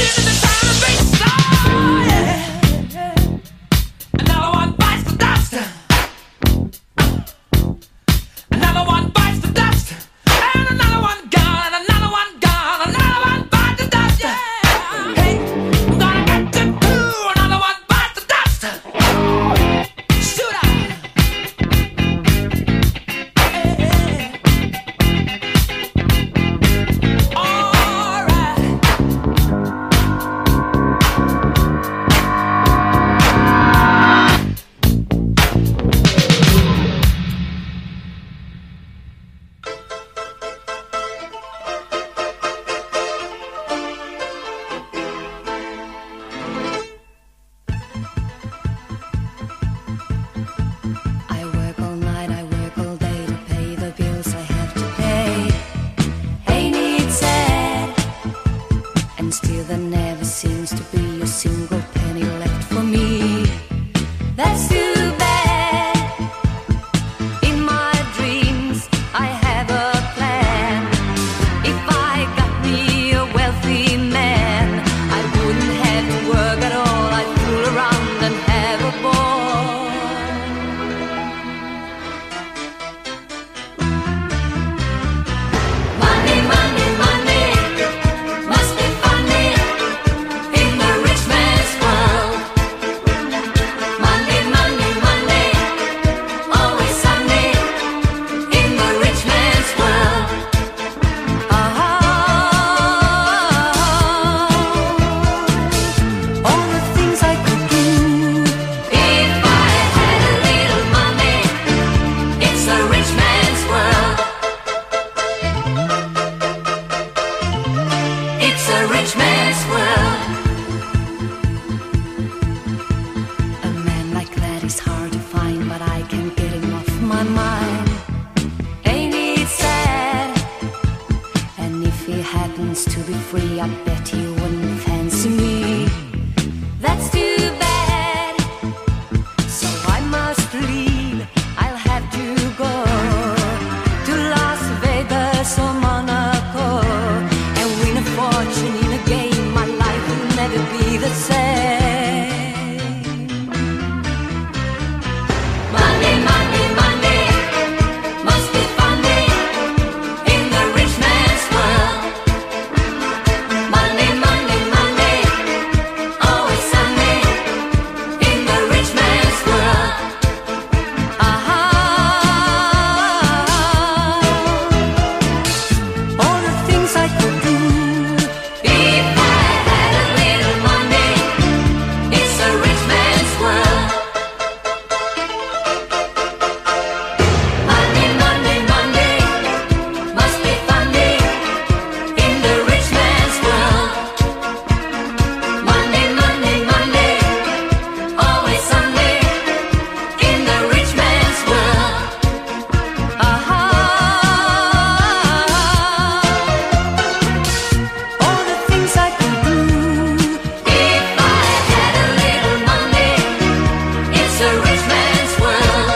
Another one bites the dust. Paris or Monaco, and win a fortune in a game. My life will never be the same. Money, money, money must be funny in the rich man's world. Money, money, money, always sunny in the rich man's world. All the things I could do if I had a little money. It's a rich man's world. Money, money, money must be funny in the rich man's world. Money, money, money, always sunny in the rich man's world. All the things I could do if I had a little money. It's a rich man's world.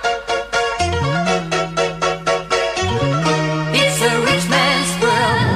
It's a rich man's world.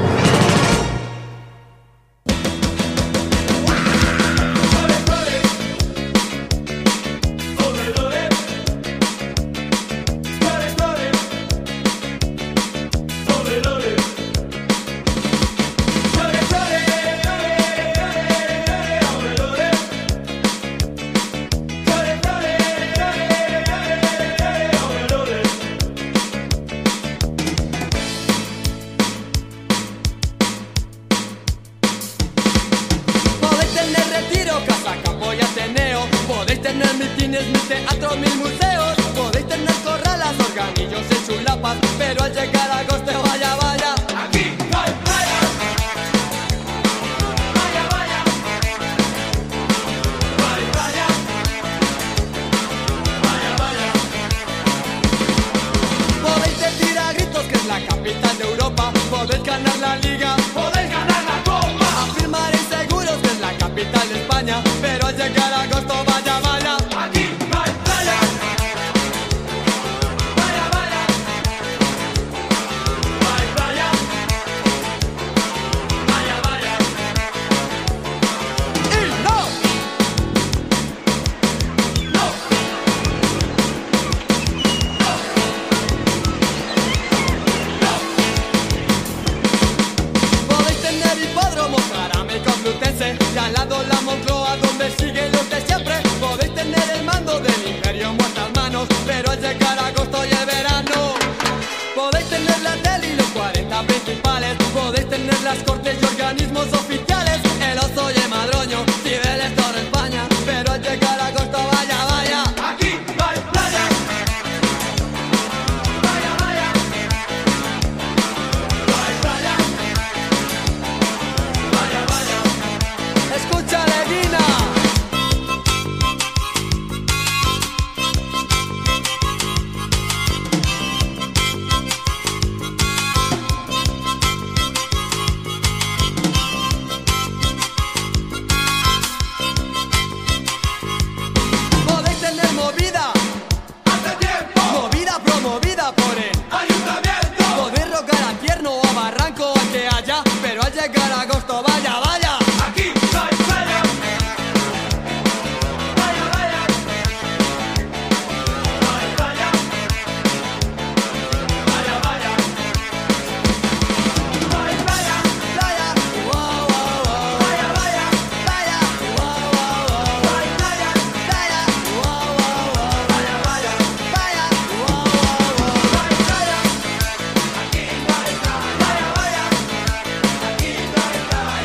Podéis tener retiro, casa, campo y ateneo. Podéis tener mitines, mil teatros, mil museos. Podéis tener corralas, organillos y chulapas. Pero al llegar a agosto, vaya, vaya, aquí no hay playa. Vaya, vaya, no hay playa. Vaya, vaya. Podéis decir a gritos que es la capital de Europa. Podéis ganar la liga, podéis ganar la copa. Afirmaréis seguros que es la capital de España. Pero al llegar a agosto, vaya, vaya, aquí no hay playa. Vaya, vaya, no hay playa. Vaya, vaya. Y no, no, podéis tener hipódromo, Jaramillo Complutense, y al lado la Moncloa donde siguen los de siempre. Podéis tener el mando del imperio en vuestras manos, pero al llegar agosto y el verano. Podéis tener la tele y los 40 principales. Podéis tener las cortes y organismos oficiales. El oso y el madroño, Cibeles, toda España. Pero al llegar agosto, vaya, vaya, aquí no hay playa. Vaya, vaya, no hay playa. Vaya, vaya. Escúchale, Dina. Podéis tener movida, hace tiempo, movida promovida por el ayuntamiento. Podéis rogar a Tierno o a Barranco o a que haya, pero al llegar a agosto, vaya, vaya, aquí no hay playa. Vaya, vaya, no hay playa. Vaya, vaya, no hay playa, playa, wow, wow, wow. Vaya, vaya, playa, wow, wow, wow. No hay playa, playa, wow, wow, wow. Vaya, vaya, playa, wow, wow, wow. No hay playa, aquí no hay playa. Vaya, vaya, aquí no hay playa.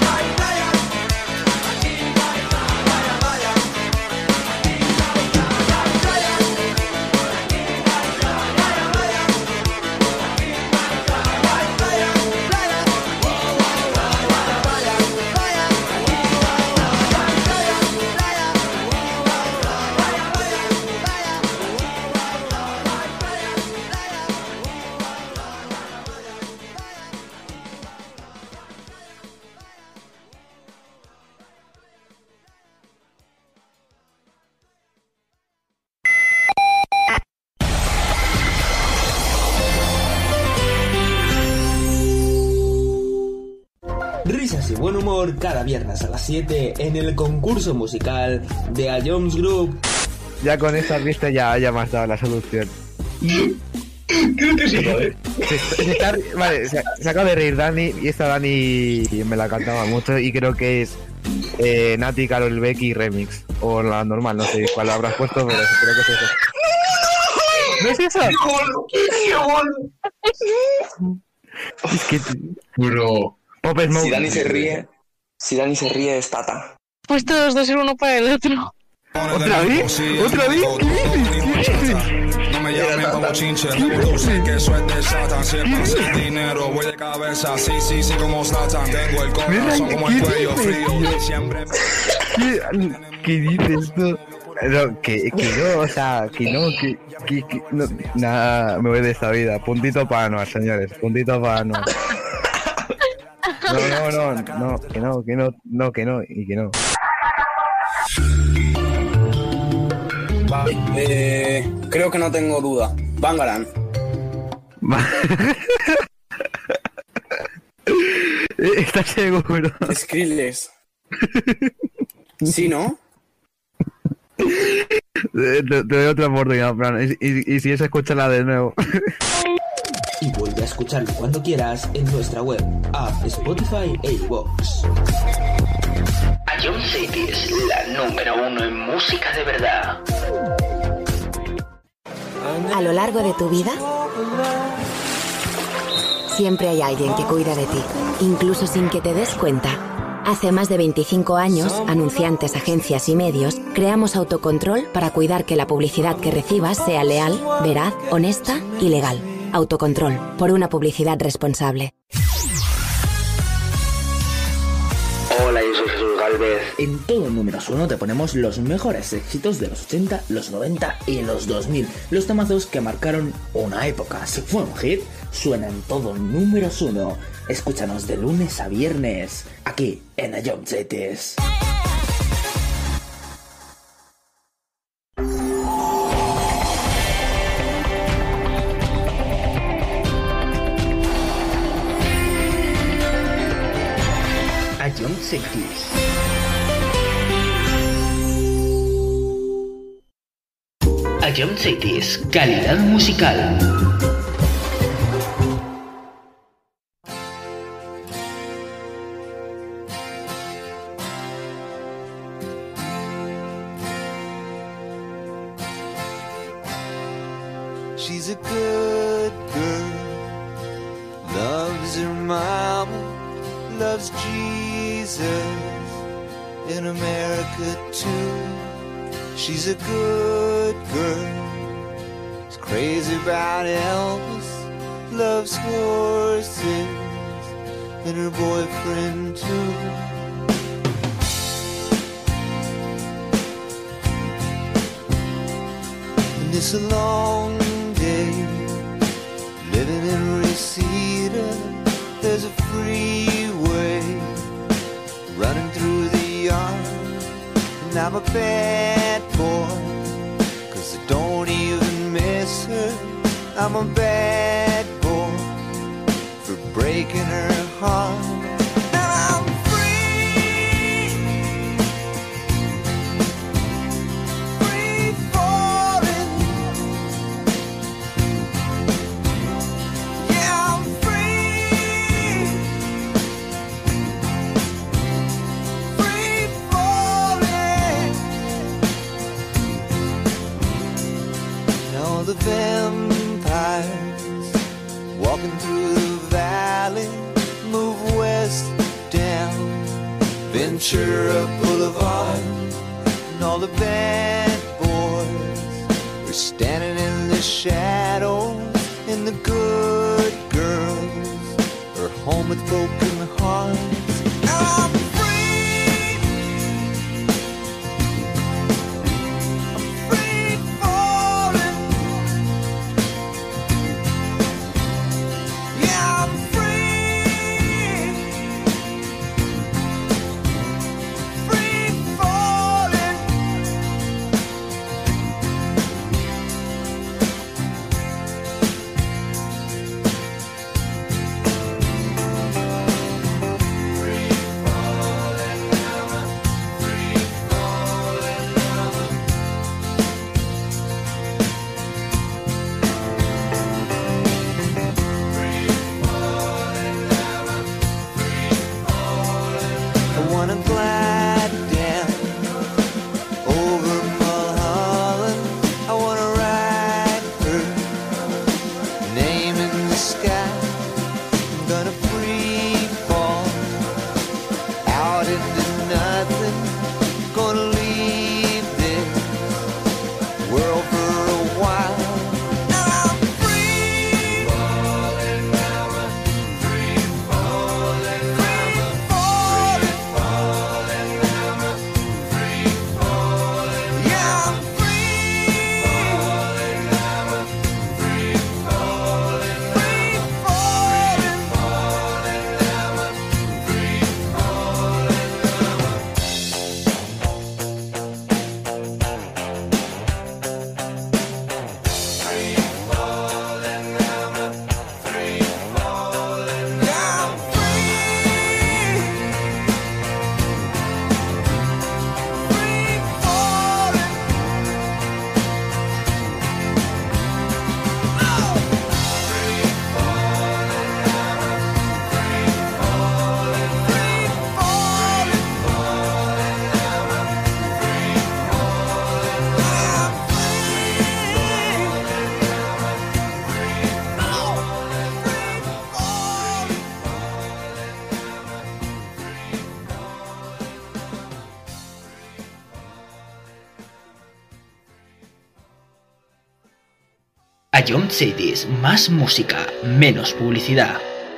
Risas y buen humor cada viernes a las 7 en el concurso musical de A Jones Group. Ya con esta pista ya me has dado la solución. Creo que sí, joder. Vale, se acaba de reír Dani y esta Dani me la cantaba mucho y creo que es Nati, Karol Becky remix. O la normal, no sé cuál habrás puesto, pero creo que es eso. ¿No es eso? ¡Qué bueno! Es que... Bro. Pop Smoke. Si Dani se ríe es Tata. Pues todos dos ser uno para el otro. ¿Otra vez? ¿Otra vez? ¿Qué dices? No me llamen como chinche, tú sé que eso es de Satan. Si el pase el dinero, voy de cabeza, sí, como Satan. Tengo el corazón como el cuello frío, siempre. ¿Qué dices tú? No, que no, o sea, que no, nada, me voy de esta vida. Puntito para Anual, señores, puntito para Anual. No, que no. Vale, creo que no tengo duda. Bangarang. ¿Estás seguro? Skrillex. ¿Sí, no? Te doy otra oportunidad, Fran. Y si es, escúchala de nuevo. Y vuelve a escucharlo cuando quieras en nuestra web, app, Spotify e iVoox. A John City es la número 1 en música de verdad. A lo largo de tu vida, siempre hay alguien que cuida de ti, incluso sin que te des cuenta. Hace más de 25 años, anunciantes, agencias y medios, creamos Autocontrol para cuidar que la publicidad que recibas sea leal, veraz, honesta y legal. Autocontrol, por una publicidad responsable. Hola, yo soy Jesús Galvez. En todo Números 1 te ponemos los mejores éxitos de los 80, los 90 y los 2000. Los temazos que marcaron una época. Si fue un hit, suena en todo Números 1. Escúchanos de lunes a viernes, aquí en A John Cities. A John Cities. A John Cities, calidad musical. She's a good girl, loves her mama, loves Jesus in America too. She's a good girl, is crazy about Elvis, loves horses and her boyfriend too. And it's a long day living in Reseda. There's a freeway running through the yard, and I'm a bad boy, 'cause I don't even miss her. I'm a bad boy for breaking her heart. Now I'm free, free falling. Yeah, I'm free, free falling. Now the vampires walking through the valley move west down Ventura Boulevard, and all the bad boys are standing in the shadows, and the good girls are home with broken hearts. Now I'm free, I'm free falling. Yeah, I'm free, free falling. gonna free fall out into nothing. Gonna leave this world for a while. Now I'm free falling, mama, free falling, mama, free falling, mama, free falling, yeah, I'm free falling, mama, free falling, free falling, falling, mama, free falling, mama. Ion Cities, más música, menos publicidad.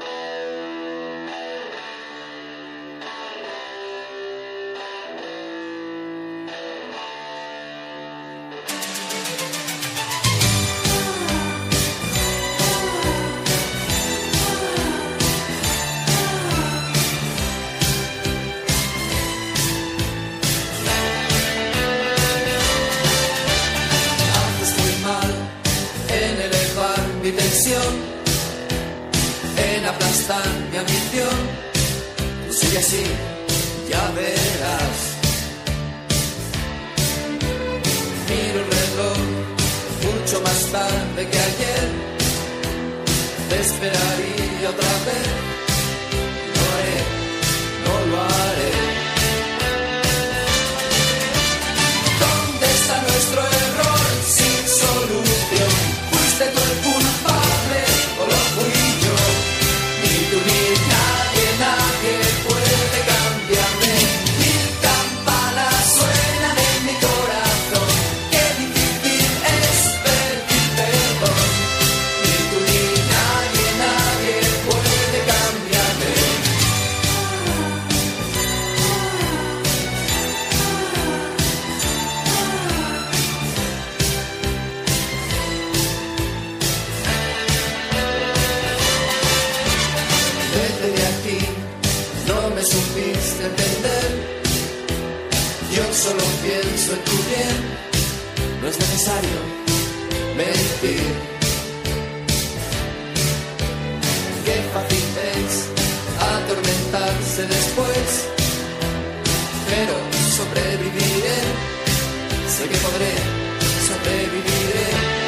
Haces muy mal en elevar mi tensión, en aplastar mi ambición. Tú sigue así, ya verás. Miro el reloj mucho más tarde que ayer. Te esperaría otra vez. Lo haré, no lo haré. ¿Dónde está nuestro error sin solución? ¿Fuiste tú el culpable o lo fui yo? Ni tú ni nadie, nadie puede cambiarme. Mil campanas suenan en mi corazón. Qué difícil es pedir perdón. Ni tú ni nadie, nadie puede cambiarme. Vete de aquí, no me supiste entender. Yo solo pienso en tu bien. No es necesario mentir. Qué fácil es atormentarse después. Pero sobreviviré. Sé que podré, sobreviviré.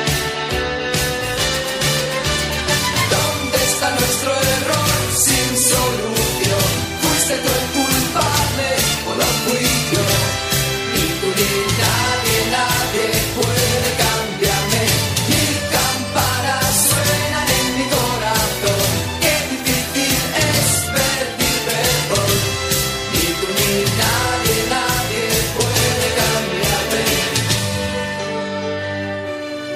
¿Dónde está nuestro error sin solución? ¿Fuiste tú el culpable o lo fui yo? Ni tú ni nadie, nadie puede cambiarme. Mil campanas suenan en mi corazón. Qué difícil es pedir perdón. Ni tú ni nadie, nadie puede cambiarme.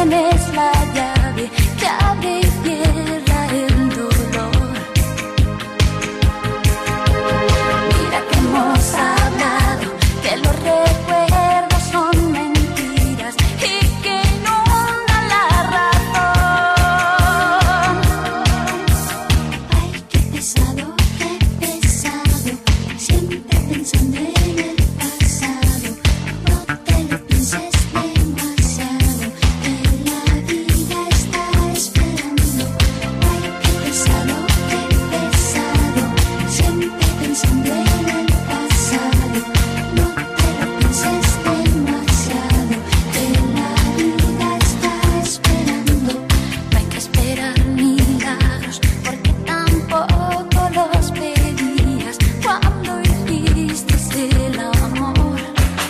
tienes la llave que abre y cierra el dolor. Mira que hemos hablado, que los recuerdos son mentiras y que inundan la razón. Ay, qué pesado, siempre pensando en el pasado. No te lo pienses demasiado, que la vida está esperando. Ay, qué pesado, siempre pensando en el pasado. No te lo pienses demasiado, que la vida está esperando. No hay que esperar milagros, porque tampoco los pedías cuando hiciste el amor.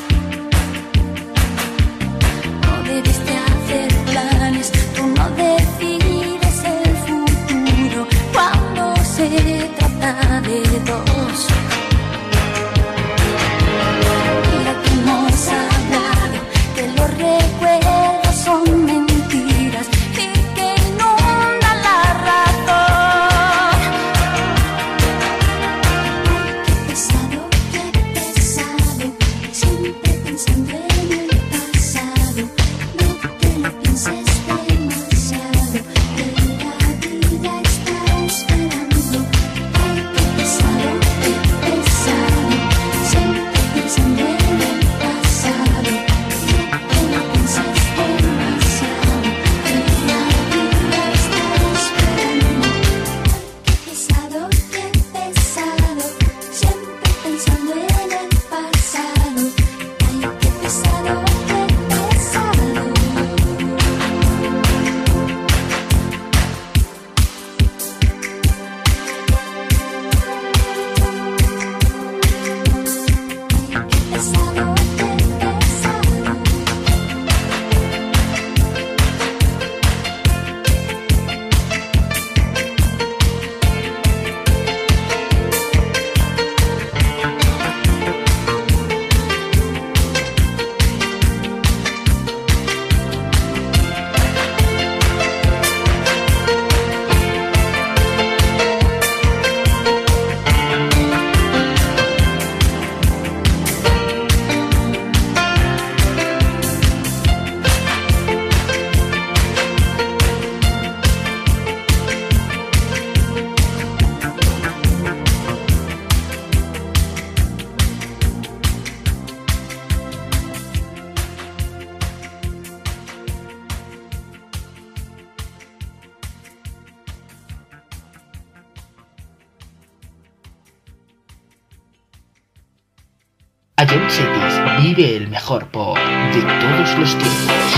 No debiste hacer planes, tú no decides el futuro cuando se trata de dos. Mira que hemos hablado, que los recuerdos son mentiras y que inundan la razón. Qué pesado, siempre pensando en el pasado. No te lo pienses demasiado, que la vida está esperando. Ay, qué pesado, siempre pensando en el pasado. No te lo pienses demasiado, que la vida está esperando. Qué pesado, siempre pensando en el pasado. Ay, qué pesado, Ion Cities vive el mejor pop de todos los tiempos.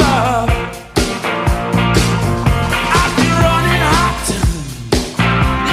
I've been running hot.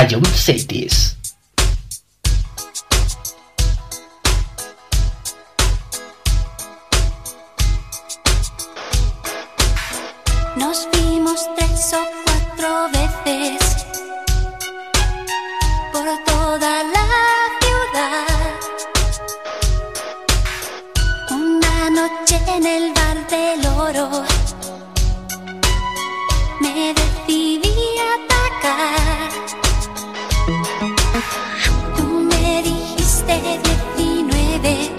John Seitis. Nos vimos 3 o 4 veces por toda la ciudad. Una noche en el bar del Oro me decidí a atacar. Tú me dijiste 19,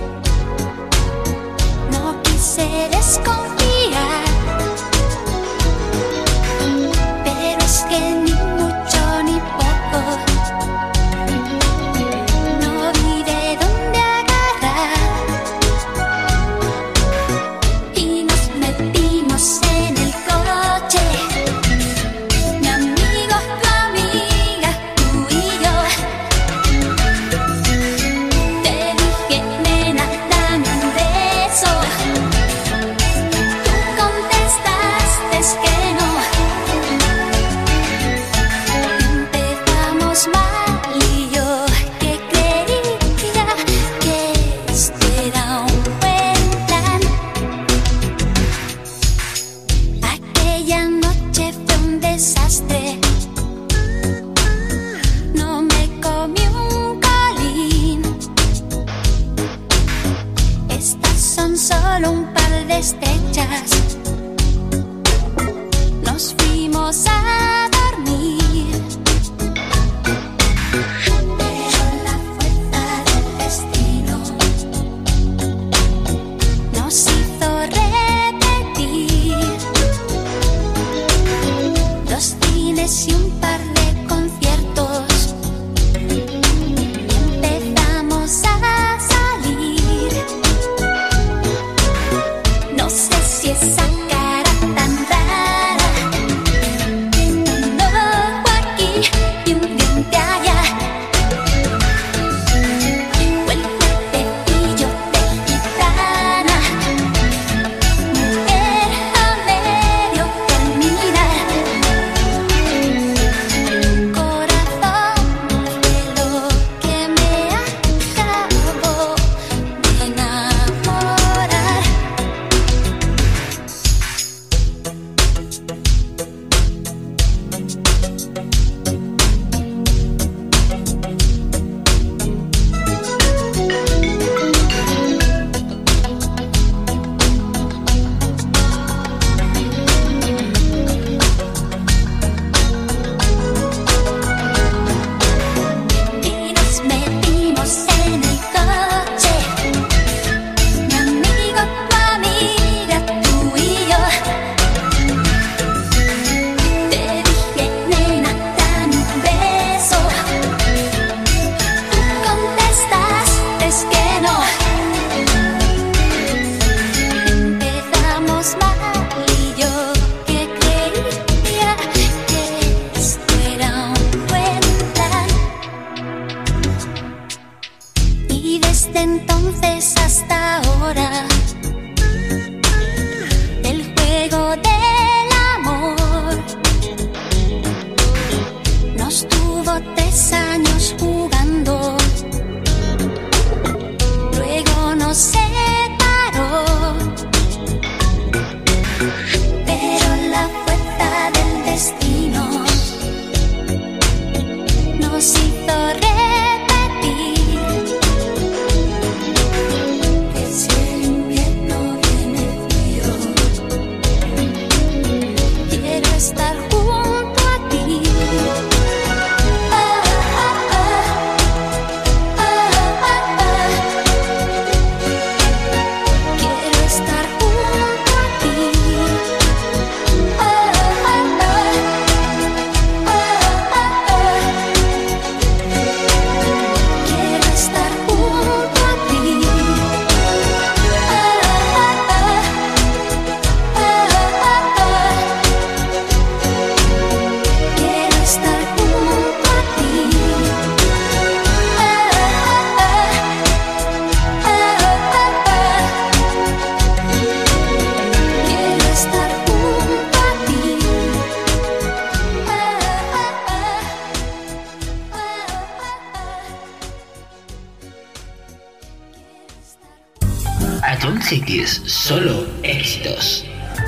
no quise desconfiar. Pero es que ni mucho ni poco, no vi de dónde agarrar. Y nos metimos en el coche, mi amigo, tu amiga, tú y yo. Te dije, nena, dame un beso. Tú contestaste es que no. Empezamos mal y yo que creía que esto era un buen plan. Aquella noche fue un desastre. No me comí un colín. Estas son solo un par de estrechas. Nos fuimos a dormir. Pero la fuerza del destino nos hizo repetir 2 cines y un par de conciertos. Y empezamos a salir. No sé si esa cara tan rara, un ojo aquí y un diente allá, o el cuerpecillo de gitana, mujer a medio terminar. Corazón de lo que me acabo de enamorar. a John Cities, solo éxitos.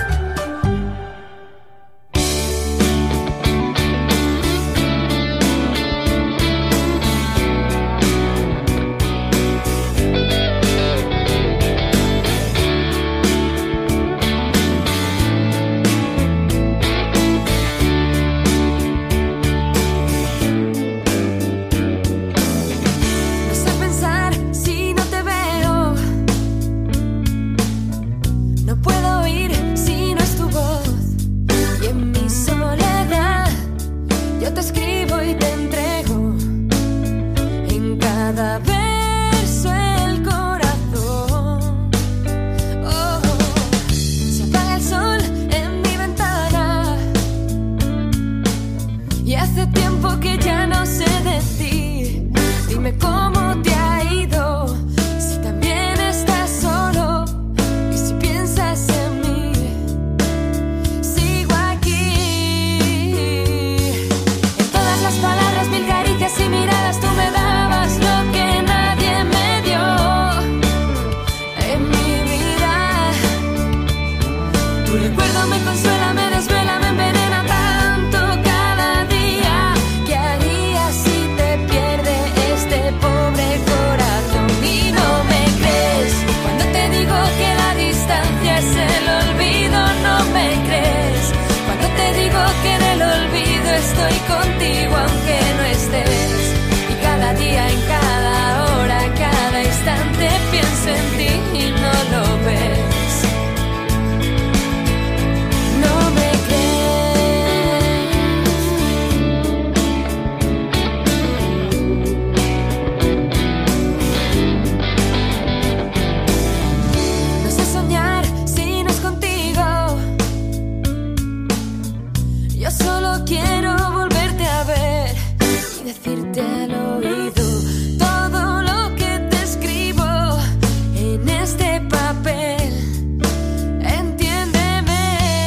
No sé pensar si no te veo. No puedo oír si no es tu voz. Y en mi soledad yo te escribo y te entrego en cada verso el corazón. Oh, se apaga el sol en mi ventana y hace tiempo que ya no sé de ti. Dime cómo te ha ido, si también estás solo y si piensas en mí. Sigo aquí. En todas las palabras, mil caricias y miradas, tú me dabas lo que nadie me dio en mi vida. Tu recuerdo me consuela, me desvela, me envenena tanto cada día. ¿Qué harías si te pierde este pobre corazón? Y no me crees cuando te digo que la distancia es el olvido. No me crees cuando te digo que en el olvido estoy contigo aunque no estés. Y cada día, en cada hora, cada instante pienso en ti y no lo ves. No me crees. No sé soñar si no es contigo. Yo solo quiero volverte a ver y decirte al oído todo lo que te escribo en este papel. Entiéndeme.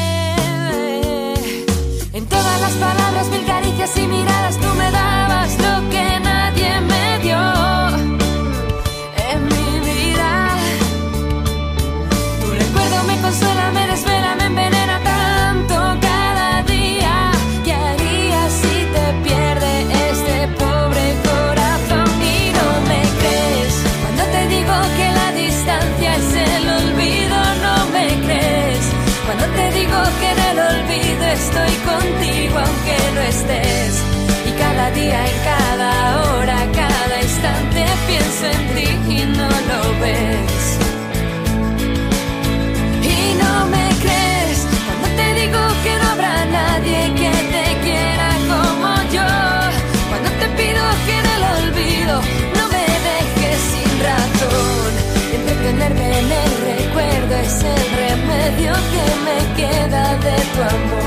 En todas las palabras, mil caricias y miradas, tú me dabas lo que nadie me dio en mi vida. Tu recuerdo me consuela, me desvela, me envenena tanto cada día. ¿Qué harías si te pierde este pobre corazón? Y no me crees cuando te digo que la distancia es el olvido. No me crees cuando te digo que en el olvido estoy contigo aunque no estés. Y cada día, en cada hora, cada instante pienso en ti y no lo ves. Y no me crees cuando te digo que no habrá nadie que te quiera como yo. Cuando te pido que en el olvido no me dejes sin razón. Entretenerme en el recuerdo es el remedio que me queda de tu amor.